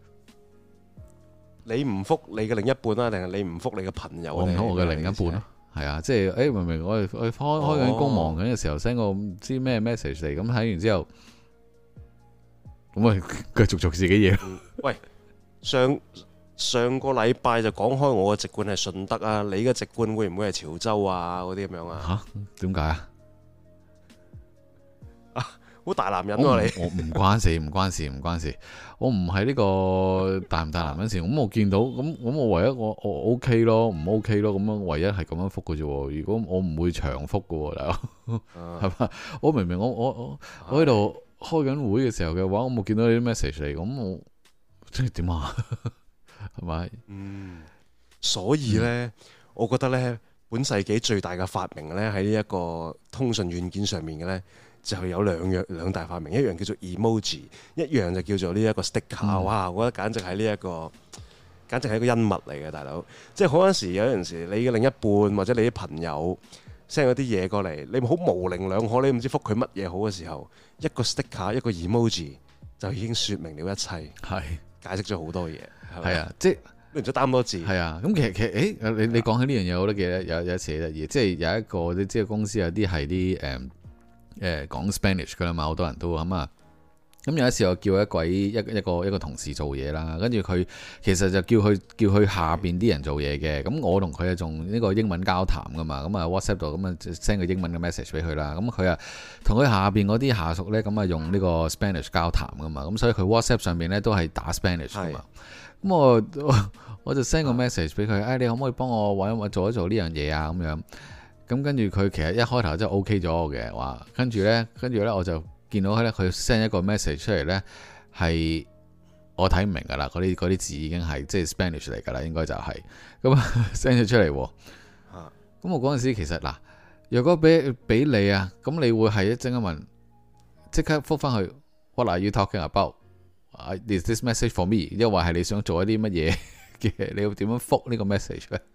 你唔覆你嘅另一半啊，定係你唔覆你嘅朋友？我唔覆我嘅另一半咯。係啊，即係明明我開緊工忙緊嘅時候 send 個唔知咩 message 嚟，咁睇完之後。咁咪繼續做自己嘢。喂，上個禮拜就講開我嘅籍貫係順德啊，你嘅籍貫會唔會係潮州啊？嗰啲咁樣啊？嚇？點解啊？ 好大男人喎你。 我唔關事，唔關事，唔關事。我唔係呢個大唔大男人事。咁我見到咁我唯一我 OK 咯，唔 OK 咯。咁樣唯一係咁樣覆嘅啫。如果我唔會長覆嘅，大佬係嘛？我明明我喺度開緊會嘅時候嘅話，我冇見到你啲 message 嚟，咁我即係點啊？係咪？ 所以呢，我覺得呢，本世紀最大嘅發明呢，喺呢一個通訊軟件上面嘅呢，就係有兩大發明，一樣叫做 emoji， 一樣就叫做呢一個 sticker。哇！我覺得簡直係一個恩物嚟嘅，大佬。即係好多時有陣時，你嘅另一半或者你啲朋友 send 嗰啲嘢過嚟，你好模棱兩可，你唔知覆佢乜嘢好嘅時候，一個 sticker 一個 emoji 就已經説明了一切，係解釋咗好多嘢。係啊，即係。唔使擔多字。係啊，咁其實你講起呢樣嘢，我都記得有一次得意，即係有一個你知公司有啲係啲講 Spanish 噶啦嘛，好多人都咁啊。咁有一次我叫一個同事做嘢啦，跟住佢其實就叫佢下邊啲人做嘢嘅。咁我同佢係用呢個英文交談噶嘛，咁啊 WhatsApp 度咁啊 send 個英文嘅 message 俾佢啦。咁佢啊同佢下邊嗰啲下屬呢，咁啊用呢個 Spanish 交談噶嘛。咁所以佢 WhatsApp 上面呢都係打 Spanish 噶嘛。咁我就 send 個 message 俾佢，你可唔可以幫我做一做呢樣嘢啊？咁樣，咁跟住佢其實一開頭真係 OK 咗我嘅話，跟住呢，我就見到佢 send 一個 message 出嚟呢，係我睇唔明噶啦，嗰啲字已經係即係 Spanish 嚟噶啦，應該就係咁 send 咗出嚟。咁我嗰陣時其實嗱，若果俾你啊，咁你會係一陣間問，即刻覆翻去 What are you talking about？Is this message for me？ 因為係你想做一啲乜嘢嘅？你要點樣覆呢個 message 咧？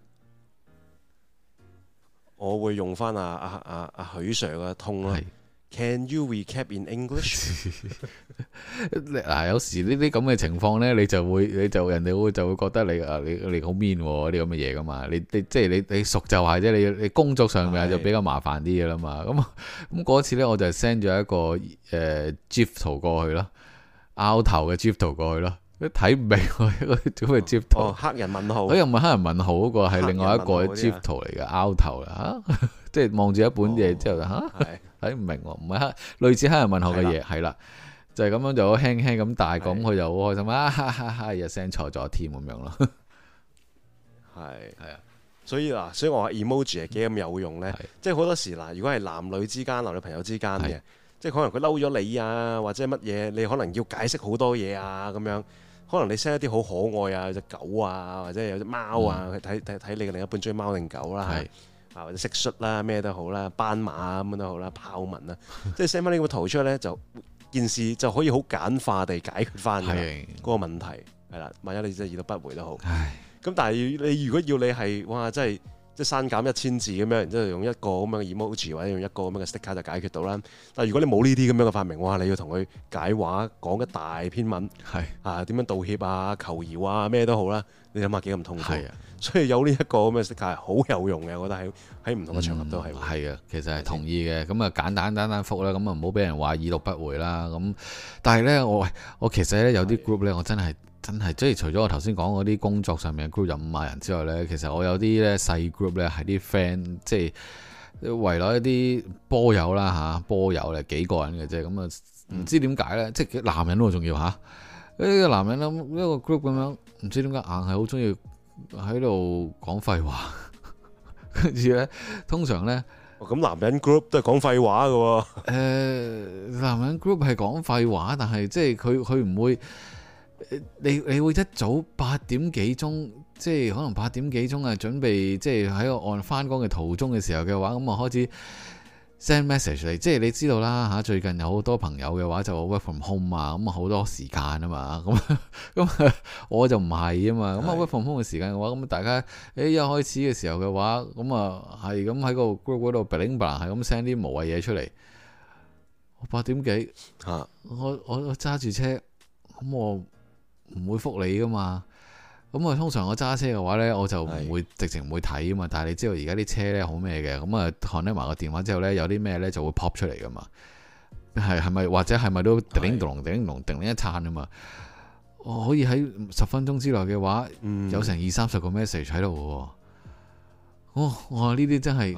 我會用翻許 Sir 嘅通咯。Can you recap in English？ 嗱，有時呢啲咁嘅情況咧，人哋就會覺得你好 mean 喎，啲咁嘅嘢噶嘛。你即係你熟就係啫，你工作上面就比較麻煩啲嘅啦嘛。咁嗰次咧，我就 send 咗一個GIF 圖過去咯。拗頭嘅 GIF 圖過去咯，都睇唔明喎，一個咁嘅 GIF 圖。黑人問號。又唔係黑人問號嗰個，係另外一個 GIF 圖嚟嘅，拗頭啦嚇，即係望住一本嘢之後睇唔明喎，唔係類似黑人問號嘅嘢，係啦，就係咁樣就輕輕咁大咁，佢就好開心啊！又 send 錯咗添咁樣咯。係啊，所以我話 emoji 係幾咁有用咧，即係好多時嗱，如果係男女之間、男女朋友之間嘅。即係可能佢嬲咗你啊，或者乜嘢，你可能要解釋好多嘢啊，咁樣可能你 send 一啲好可愛啊，有隻狗啊，或者有隻貓啊，睇你嘅另一半中意貓定狗啦，或者蟋蟀啦，咩都好啦，斑馬咁都好啦，豹紋啦，即係 send 翻呢個圖出嚟咧，就件事就可以好簡化地解決翻嗰個問題，係啦。萬一你真係已讀不回都好，咁但係你如果要你係哇，真係〜即係刪減1000字咁樣，然之後用一個咁樣嘅 emoji 或者用一個咁樣嘅 sticker 就解決到啦。但係如果你冇呢啲咁樣嘅發明，哇！你要同佢解話講一大篇文，點樣道歉啊、求饒啊咩都好啦，你諗下幾咁痛苦。所以有呢一個咁嘅 sticker 係好有用嘅，我覺得喺唔同嘅場合都係。係啊，其實係同意嘅。咁啊簡單覆啦，咁啊唔好俾人話已讀不回啦。咁但係咧，我其實咧有啲 group 咧，我真係即係除咗我頭先講嗰啲工作上面嘅 group 有5萬人之外呢，其實我有啲咧細 group 呢係啲 friend， 即係圍內一啲波友啦嚇，波友咧幾個人嘅啫，咁啊唔知點解呢，即係男人喎仲要嚇，呢個男人咧一個 group 咁樣，唔知點解硬係好中意喺度講廢話，跟住呢，通常呢，咁男人 group 都係講廢話嘅喎。男人 group 係講廢話，但係即係佢唔會。你會一早8點幾鐘，即係可能8點幾鐘啊，準備即係喺個按翻工嘅途中嘅時候嘅話，咁啊開始 send message 嚟，即係你知道啦嚇。最近有好多朋友嘅話就 work from home 啊，咁啊好多時間啊嘛，咁我就唔係啊嘛，咁啊 work from home 嘅時間嘅話，咁大家一開始嘅時候嘅話，咁啊係咁喺個 group 嗰度 bling bling 係咁 send 啲無謂嘢出嚟。我8點幾我揸住車，咁我唔會覆你噶嘛，咁啊通常我揸車嘅話呢，我就唔會直情唔會睇啊嘛。但係你知道而家啲車呢好咩嘅，咁啊看埋個電話之後呢，有啲咩呢就會 pop 出嚟噶嘛。係咪或者係咪都叮咚叮一餐啊嘛？我可以喺10分鐘之內嘅話，有成20-30個 message 喺度嘅。我話呢啲真係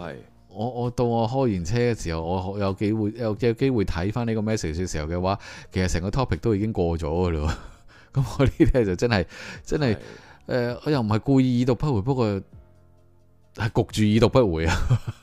我到我開完車嘅時候，我有機會睇翻呢個 message 嘅時候嘅話，其實成個 topic 都已經過咗㗎咯。咁我呢啲咧就真係我又唔係故意已讀不回，不過係焗住已讀不回啊。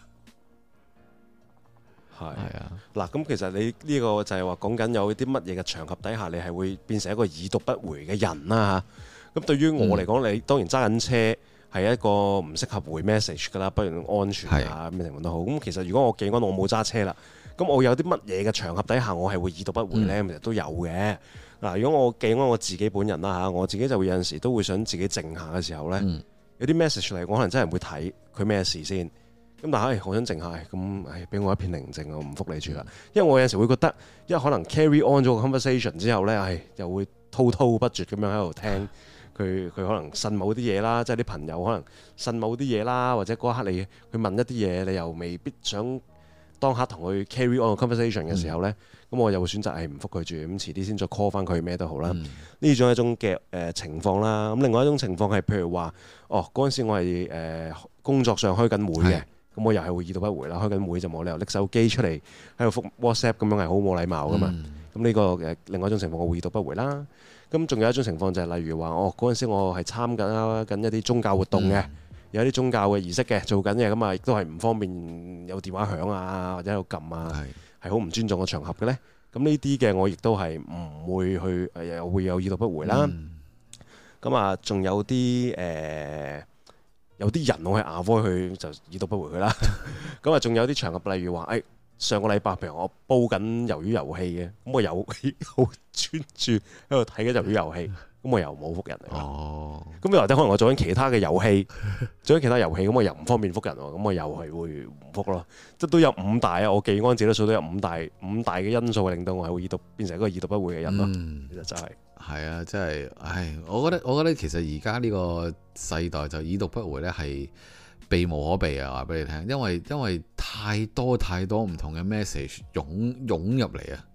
係啊，嗱，咁其實你呢個就係話講緊有啲乜嘢嘅場合底下，你係會變成一個已讀不回嘅人啦嚇。咁對於我嚟講，你當然揸緊車係一個唔適合回 message 噶啦，不如安全啊咩情況都好。咁其實如果我記安我冇揸車啦，咁我有啲乜嘢嘅場合底下我係會已讀不回呢？其實都有嘅。嗱，如果我記安我自己本人啦嚇，我自己就會有陣時都會想自己靜下嘅時候呢，有啲 message 嚟，我可能真係唔會睇佢咩事先。咁但係，我想靜下，咁俾我一片寧靜，我唔覆你住啦。因為我有陣時會覺得，因為可能 carry on 咗個 conversation 之後呢，又會滔滔不絕咁樣喺度聽佢可能呻某啲嘢啦，即係啲朋友可能呻某啲嘢啦，或者嗰一刻你去問一啲嘢，你又未必想當刻同佢 carry on 個 conversation 嘅時候呢，咁我又會選擇唔覆佢住，咁遲啲先再 call 翻佢咩都好啦。呢種係一種嘅情況啦。咁另外一種情況係譬如話，嗰陣時我係工作上開緊會嘅。咁我又係會已讀不回啦，開緊會就冇理由拎手機出嚟喺度覆 WhatsApp 咁樣係好冇禮貌噶嘛。咁呢個另外一種情況我會已讀不回啦。咁仲有一種情況就係例如話，嗰陣時我係參加緊一啲宗教活動嘅，有啲宗教嘅儀式嘅做緊嘅，咁啊亦都係唔方便有電話響啊或者喺度撳啊，係好唔尊重嘅場合嘅咧。咁呢啲嘅我亦都係唔會去又會有已讀不回啦。咁啊仲有啲有啲人我係 avoid 佢就已讀不回佢啦。咁啊，仲有啲場合，例如話，上個禮拜譬如我煲緊魷魚遊戲嘅，咁我又好專注喺度睇緊魷魚遊戲，咁我又冇覆人嚟。咁又或者可能我做緊其他嘅遊戲，咁我又唔方便覆人喎，咁我又係會唔覆咯。即都有五大啊，我記安自己都數到有五大嘅因素，令到我係會變成一個已讀不回嘅人咯。其實真係。係啊，真係，我覺得其實而家呢個世代就已讀不回呢係避無可避啊！話俾你聽，因為太多唔同嘅 message 湧入嚟啊！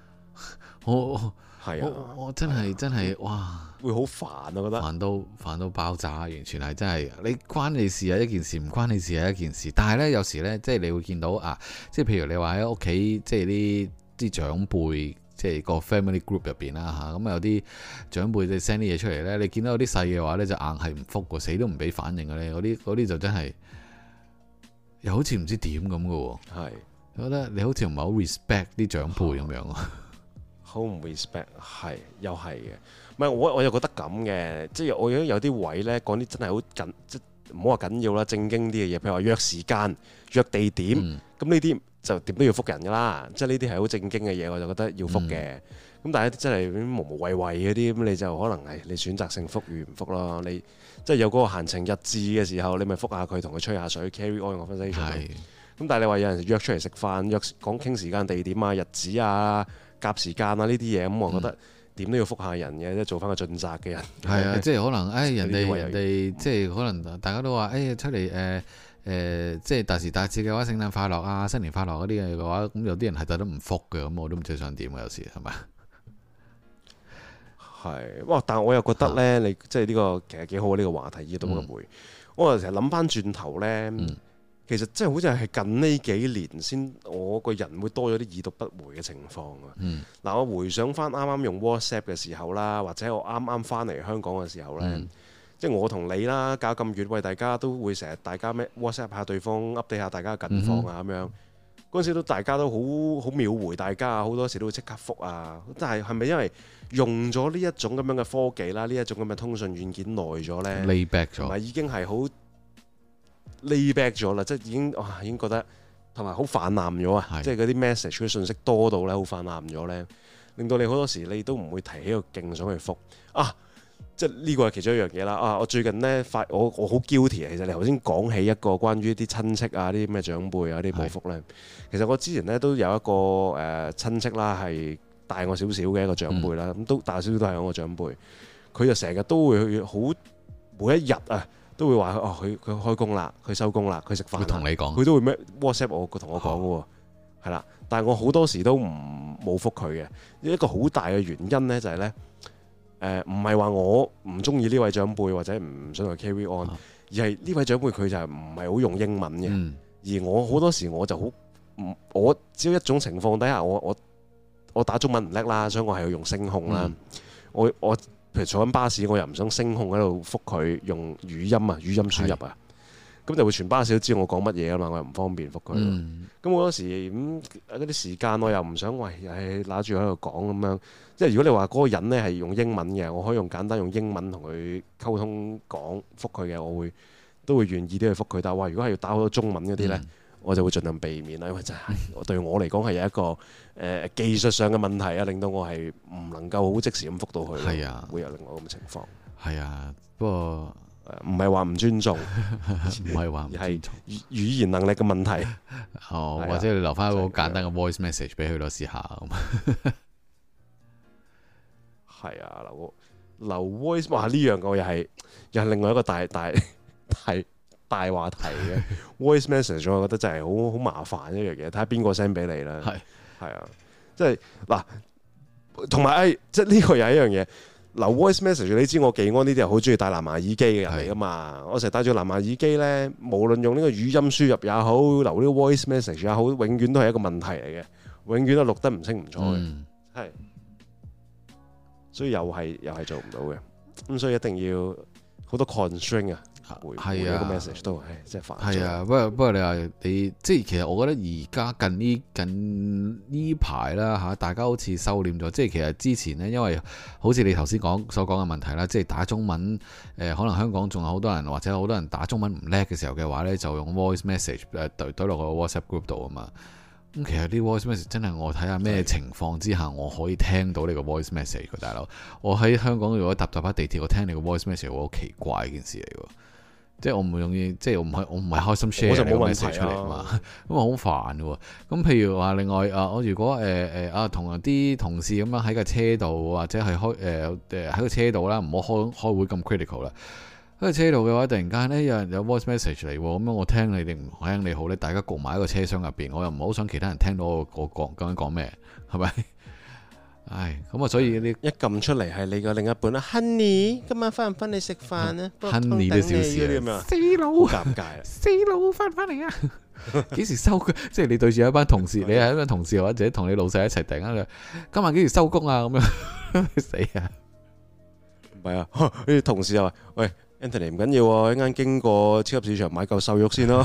我真係哇，會好煩啊！覺得煩到爆炸，完全係真係你關你事係一件事，唔關你事係一件事。但係呢，有時呢，即係你會見到啊，即係譬如你話喺屋企，即係啲長輩。即係個 family group 入邊啦嚇，咁有啲長輩你 send 啲嘢出嚟咧，你見到有啲細嘅話咧，就硬係唔覆喎，死都唔俾反應嘅咧，嗰啲就真係又好似唔知點咁嘅喎。係，我覺得你好似唔係好 respect 啲長輩咁樣啊。好唔 respect 係，又係嘅。唔係我又覺得咁嘅，即係我覺得有啲位咧講啲真係好緊，即唔好話緊要啦，正經啲嘅嘢，譬如話約時間、約地點，咁呢啲。就點都要覆人㗎啦，即係呢啲係好正經嘅嘢，我就覺得要覆嘅。咁但係真係無無謂謂嗰啲，咁你就可能係你選擇性覆與唔覆咯。你即係有嗰個閒情逸致嘅時候，你咪覆下佢，同佢吹下水 carry on 個 conversation。咁但係你話有人約出嚟食飯，約講傾時間、地點啊、日子啊、夾時間啊呢啲嘢，咁我覺得點都要覆下人嘅，即係做翻個盡責嘅人。係啊，即係可能人哋即係可能大家都話出嚟即係大時大節嘅話，聖誕快樂啊、新年快樂嗰啲嘅話，咁有啲人係特登唔覆嘅，咁我都唔知想點啊，有時係咪？係，哇！但係我又覺得呢，你即係呢個其實幾好呢個話題，已讀不回。我又成日諗翻轉頭呢，其實即係好似係近呢幾年先，我個人會多咗啲已讀不回嘅情況啊。嗱，我回想翻啱啱用 WhatsApp 嘅時候啦，或者我啱啱翻嚟香港嘅時候呢。即係我同你啦，搞咁遠，喂，大家都會成日大家咩 WhatsApp 下對方 update 下大家嘅近況啊咁樣。嗰陣時都大家都好秒回，大家好多時都會即刻覆啊。但係咪因為用咗呢一種咁樣嘅科技啦，呢一種咁嘅通訊軟件耐咗呢 lay back 咗，同埋已經係好 lay back 咗啦，即係已經覺得同埋好泛濫咗啊！即係嗰啲 message 嘅信息多到咧，好泛濫咗呢，令到你好多時你都唔會提起個勁想去覆啊！即係呢個係其中一樣嘢啦。我最近呢，我好 guilty 啊。其實你頭先講起一個關於啲親戚啊、啲咩長輩啊、啲冇覆呢。其實我之前呢都有一個親戚啦，係大我少少嘅一個長輩啦。咁都大少少都係我個長輩。佢就成日都會好每一日啊，都會話佢開工啦，佢收工啦，佢食飯。會同你講，佢都會咩 WhatsApp 我同我講嘅喎，係啦。但係我好多時都冇覆佢嘅。一個好大嘅原因呢，就係呢。唔係話我唔中意呢位長輩或者唔想去 carry on，而係呢位長輩佢就係唔係好用英文嘅， 而我好多時我就好我只要一種情況底下，我打中文唔叻啦，所以我係要用聲控啦。我譬如坐緊巴士，我又唔想聲控喺度覆佢用語音啊，語音輸入啊，咁就會全巴士都知道我講乜嘢啊嘛，我又唔方便覆佢。咁好多時嗰啲時間我又唔想喂，揦住喺度講咁樣。即係如果你話嗰個人呢係用英文嘅，我可以簡單用英文同佢溝通講覆佢嘅，我都會願意啲去覆佢。但係話如果係要打好多中文嗰啲呢，我就會盡量避免啦，因為真係對我嚟講係有一個技術上嘅問題啊，令到我係唔能夠好即時咁覆到佢。係啊，會有另外咁嘅情況。係啊，不過唔係話唔尊重，唔係話唔尊重，係語言能力嘅問題。或者你留翻一個好簡單嘅 voice message 俾佢咯，試下咁。係啊，留 voice 哇！呢樣我又係另外一個大話題嘅 voice message， 我覺得真係好麻煩一樣嘢，睇下邊個 send 俾你啦。係啊，即係嗱，同埋即係呢個又係一樣嘢。留 voice message， 你知我技安呢啲係好中意戴藍牙耳機嘅人嚟噶嘛？我成日戴住藍牙耳機咧，無論用呢個語音輸入也好，留呢個 voice message 也好，永遠都係一個問題嚟嘅，永遠都錄得唔清唔楚嘅，係，所以又係做唔到嘅，咁所以一定要好多 constraint 啊。回一個 message 都係即係煩。係啊，不過你話你即係其實我覺得而家近呢排啦嚇，大家好似收斂咗。即係其實之前呢，因為好似你頭先所講嘅問題啦，即係打中文可能香港仲有好多人或者好多人打中文唔叻嘅時候嘅話呢，就用 voice message 對落個 WhatsApp group 度啊嘛。咁其實啲 voice message 真係我睇下咩情況之下我可以聽到你個 voice message 大佬。我喺香港如果搭地鐵，我聽你個 voice message 會好奇怪一件事嚟喎。即係我唔會容易，即係我唔係開心 share 你個 message 出嚟嘛，咁啊好煩嘅喎。咁譬如話另外我如果同啲同事咁樣喺架車度，或者係喺個車度啦，唔好開會咁 critical 啦。喺個車度嘅話，突然間呢，有人有 voice message 嚟，咁樣我聽你定唔聽你好咧？大家焗埋喺個車廂入邊，我又唔好想其他人聽到我講究竟講咩，係咪？唉，咁啊，所以呢一撳出嚟係你個另一半啦，Honey，今晚翻唔翻嚟食飯啊？Honey 都小事啊，死佬，好尷尬啊！死佬翻唔翻嚟啊？幾時收工？即係你對住一班同事，你係一班同事或者同你老細一齊，突然間今晚幾時收工啊？咁樣死啊！唔係啊，啲同事又話：喂 ，Anthony 唔緊要喎，一陣間經過超級市場買嚿瘦肉先咯。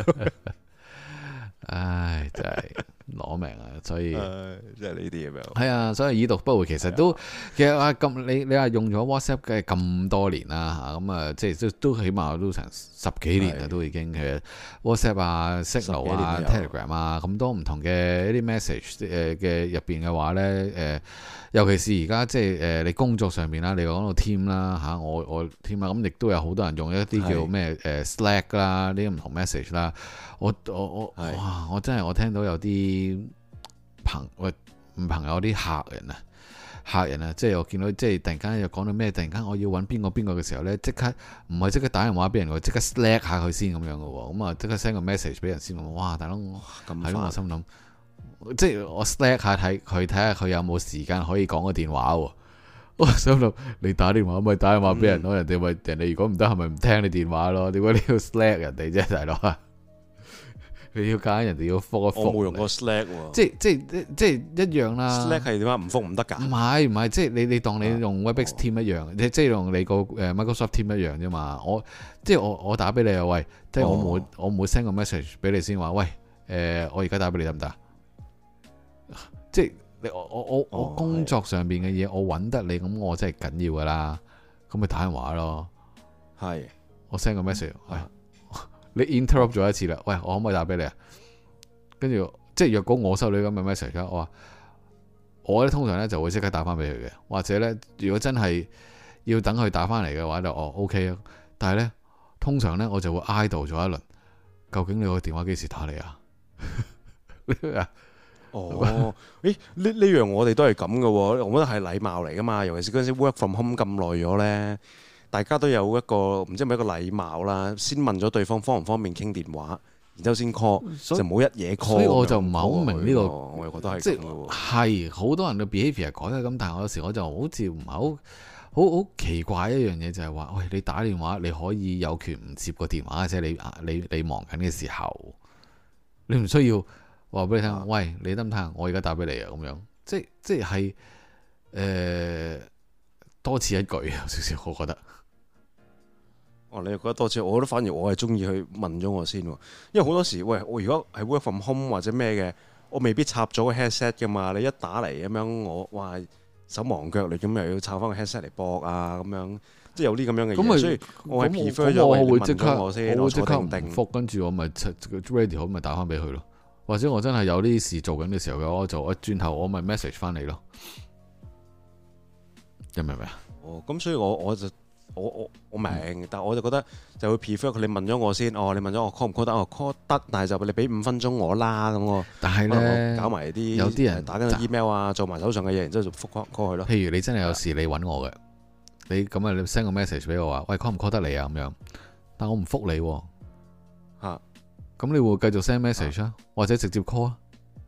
唉，真係攞命啊！所以即係呢啲咁樣。係啊，所以已讀不回，其實咁你話用咗 WhatsApp 嘅咁多年啦嚇，咁啊即係都起碼都成10幾年啦，都已經其實 WhatsApp 啊、Signal 啊、Telegram 啊咁多唔同嘅一啲 message 嘅入邊嘅話咧尤其是而家即係你工作上面啦，你講到 team 啦嚇，我 team 啊，咁亦都有好多人用一啲叫咩Slack 啦，呢啲唔同 message 啦。我真係我聽到有啲朋友有啲客人啊，即係我見到即係突然間又講到咩，突然間我要揾邊個嘅時候呢，即刻唔係即刻打電話俾人，我即刻 Slack 下佢先咁樣嘅喎，咁啊即刻 send 個 message 俾人先，哇大佬係咯，我心諗即係我 Slack 下睇下佢有冇時間可以講個電話喎，我心諗你打電話咪打電話俾人咯，人哋如果唔得係咪唔聽你電話咯？點解你要 Slack 人哋啫，大佬啊？你要揀人哋要覆一覆，我冇用過 Slack 喎，即係一樣啦。Slack 係點解唔覆唔得㗎？唔係，即係你當你用 Webex Team 一樣，即係用你個Microsoft Team 一樣啫嘛。我打俾你啊，喂，即係我唔會 send 個 message 俾你先話，喂，我而家打俾你得唔得？即係我工作上邊嘅嘢，我揾得你，咁我真係緊要㗎啦。咁咪打電話咯。係，我 send 個 message，喂。你 interrupt 咗一次啦，喂，我可唔可以打俾你啊？跟住即係若果我收你咁嘅 message，我咧通常咧就會即刻打翻俾佢嘅，或者咧如果真係要等佢打翻嚟嘅話就OK 啊。但係咧通常咧我就會 idle 咗一輪，究竟你個電話幾時打嚟啊？呢樣我哋都係咁嘅喎，我覺得係禮貌嚟噶嘛，尤其是嗰陣時 work from home 咁耐咗咧。大家都有一個唔知係咪一個禮貌啦，先問咗對方方唔方便傾電話，然之後先 call，就冇一嘢 call。所以我就唔係好明呢個，我又覺得係即係好多人嘅 behaviour 改得咁，但係我有時我就好似唔係好奇怪一樣嘢，就係話，喂，你打電話你可以有權唔接個電話，即係你忙緊嘅時候， 你唔需要話俾你聽，喂，你得唔得？我而家打俾你啊，咁樣，即係多此一舉有少少，我覺得。 哦，你又覺得多次，我覺得反而我係中意去問咗我先喎，因為好多時，喂，我如果係 work from home 或者咩嘅，我未必插咗個 headset 噶嘛，你一打嚟咁樣，我哇手忙腳亂咁又要插翻個 headset 嚟播啊，咁樣即係有啲咁樣嘅嘢，所以我係 prefer 咗我會即刻我先，我即刻唔定覆，跟住我咪 ready 好咪打翻俾佢咯，或者我真係有啲事做緊嘅時候嘅話，我就轉頭我咪 message 翻你咯，明唔明啊？ 哦，咁所以我就。我明，但係我就覺得就會 prefer 佢，你問咗我先，你問咗我 call 唔 call 得，我 call 得，但係就你俾5分鐘我啦，咁我。但係咧，搞埋啲有啲人打緊 email 啊，做埋手上嘅嘢，然之後就覆 call 佢咯。 譬如你真係有事你揾我嘅，你咁你 send 個 message 俾我話，喂 call 唔 call 得你啊咁樣，但我唔覆你喎。嚇，咁你會繼續 send message 啊，或者直接 call 啊？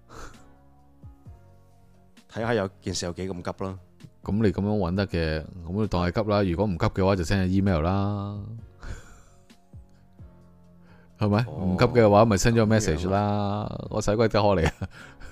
睇下有件事有幾咁急啦。 咁你咁樣揾得嘅，咁你當係急啦。如果唔急嘅話，就 send 個 email 啦，係咪？唔急嘅話，咪 send 咗個 message 啦。我使鬼得開你啊！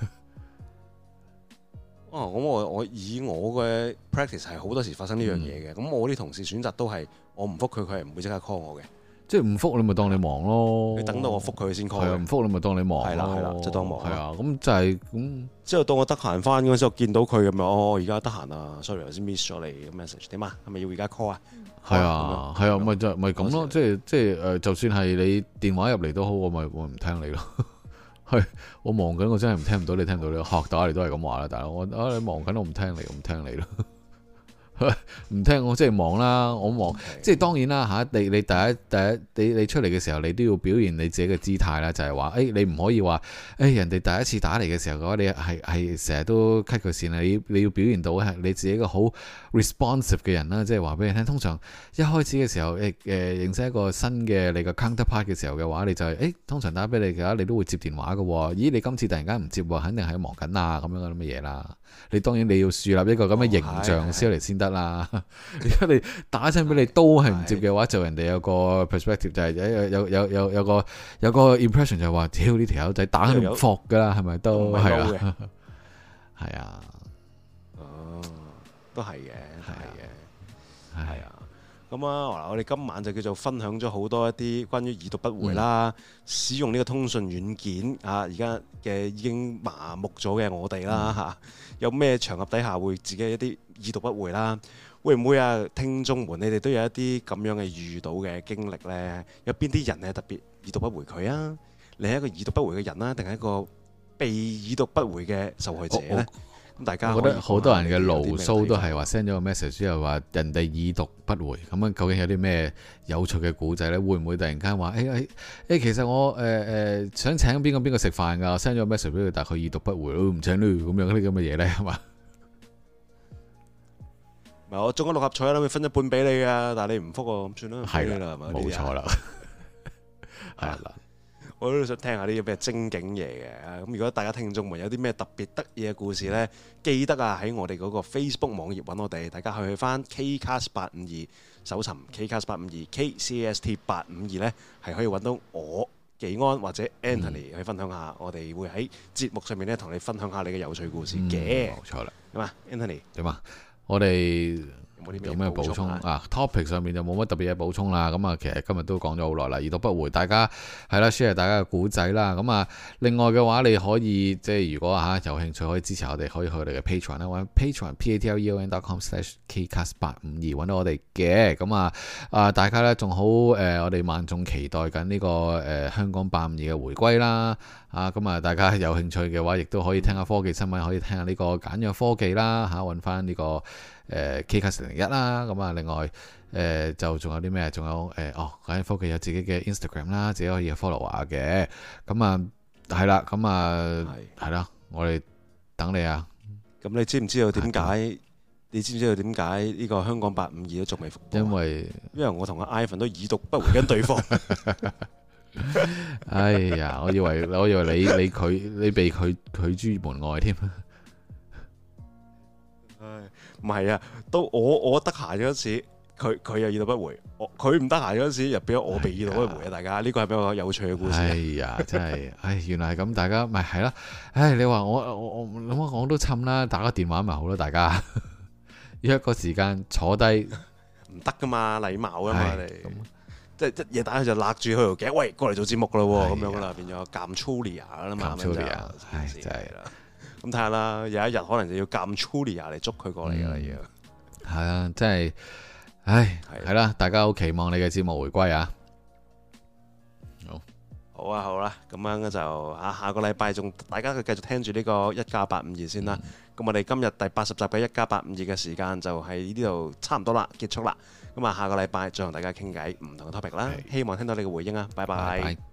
咁我以我嘅 practice 係好多時發生呢樣嘢嘅。咁我啲同事選擇都係我唔覆佢，佢係唔會即刻 call 我嘅。 即係唔覆你咪當你忙咯， 你等到我覆佢先 call。 係啊，唔覆你咪當你忙。係啦，就當忙。 係啊，咁就係咁。 之後到我得閒翻嗰陣時，我見到佢咁樣，而家得閒啊 ，sorry 頭先 miss 咗你嘅 message，點啊？係咪要而家 call 啊？ 係啊，係啊，咪咁咯，即係就算係你電話入嚟都好，我咪唔聽你咯。係我忙緊，我真係唔聽唔到你，聽唔到你學打你都係咁話啦，大佬。你忙緊，我唔聽你，我唔聽你咯。唔聽我即係忙啦，我忙 Okay. 即係當然啦嚇。你第一你出嚟嘅時候，你都要表現你自己嘅姿態啦，就係話你唔可以話人哋第一次打嚟嘅時候嘅話，你係成日都 cut 佢線啊！你要表現到係你自己一個好 responsive 嘅人啦，即係話俾你聽。通常一開始嘅時候認識一個新嘅你個 counterpart 嘅時候嘅話，你就係通常打俾你嘅話，你都會接電話嘅喎。咦，你今次突然間唔接喎，肯定係忙緊啊咁樣嘅乜嘢啦。你當然你要樹立一個咁嘅形象先嚟先得啦。如果你打親俾你都係唔接嘅話，就人哋有個 perspective 就係有個 impression 就係話，屌呢條友仔打都唔服噶啦，係咪都係啊？係啊， 都係嘅，係啊。咁啊，我哋今晚就叫做分享咗好多一啲關於已讀不回啦，使用呢個通訊軟件啊，而家嘅已經麻木咗嘅我哋啦嚇，有咩場合底下會自己一啲已讀不回啦？會唔會啊？聽眾們，你哋都有一啲咁樣嘅遇到嘅經歷呢？有邊啲人係特別已讀不回佢啊？你係一個已讀不回嘅人啦，定係一個被已讀不回嘅受害者呢？咁大家我覺得好多人嘅牢騷都係話 send 咗個 message 之後話人哋已讀不回，咁樣究竟有啲咩有趣嘅故仔呢？會唔會突然間話其實我想請邊個食飯㗎？send 咗個 message 俾佢，但係佢已讀不回，唔請佢咁樣啲咁嘅嘢呢？係嘛？唔係我中咗六合彩啦，會分一半俾你㗎，但係你唔覆我，咁算啦，係啦， 冇錯啦，係啦。 我都想聽下啲咩精警嘢嘅。咁如果大家聽眾們有啲咩特別得意嘅故事呢，記得啊喺我哋嗰個 Facebook 網頁揾我哋，大家去翻 Kcast852搜尋 Kcast852 KCAST852呢，係可以揾到我技安或者 Anthony 去分享下，我哋會喺節目上面呢同你分享下你嘅有趣故事嘅。冇錯啦，咁啊 Anthony 點啊？我哋有咩補充啊？topic 上面就冇乜特別嘢補充啦。咁啊，其實今日都講咗好耐啦，已讀不回，大家係啦 share 大家嘅故仔啦。咁啊，另外嘅話，你可以即係如果有興趣可以支持我哋，可以去我哋嘅 Patreon 啦，或者 Patreon patreon.com/kcast852 揾到我哋嘅。咁大家咧仲好我哋萬眾期待緊呢個香講852嘅回歸啦。咁啊，大家有興趣嘅話，亦都可以聽下科技新聞，可以聽下呢個簡約科技啦揾翻呢個Kcast01啦。咁啊，另外就仲有啲咩？仲有簡約科技有自己嘅 Instagram 啦，自己可以 follow 下嘅。咁啊，係啦，咁啊係啦，我哋等你啊。咁你知唔知道點解？你知唔知道點解呢個香講852都仲未復播？因為我同阿 Ivan 都已讀不回緊對方。哎呀，我以為你被拒諸門外添。唉，唔係啊，到我得閒嗰時， 佢又已讀不回，佢唔得閒嗰陣時，又俾我被已讀不回啊！大家呢個係比較有趣嘅故事。 哎呀，真係，原來係咁，大家咪係啦。你話我都氹啦，打個電話咪好咯，大家約個時間坐低， 唔得噶嘛，禮貌噶嘛，你即係一夜打佢就勒住佢條頸，喂，過嚟做節目噶咯喎，咁樣噶啦，變咗監 Chulia 啦嘛， 監 Chulia，真係啦。 咁睇下啦，有一日可能就要監 Chulia 嚟捉佢過嚟噶啦，要係啊，真係，係啦，大家好期望你嘅節目回歸啊！ 好啦，咁樣就下個禮拜仲大家繼續聽住呢個一家852先啦。咁我哋今日第80集嘅一家852嘅時間就喺呢度差唔多啦，結束啦。咁下個禮拜再同大家傾偈唔同嘅 topic 啦，希望聽到你嘅回應啊！拜拜。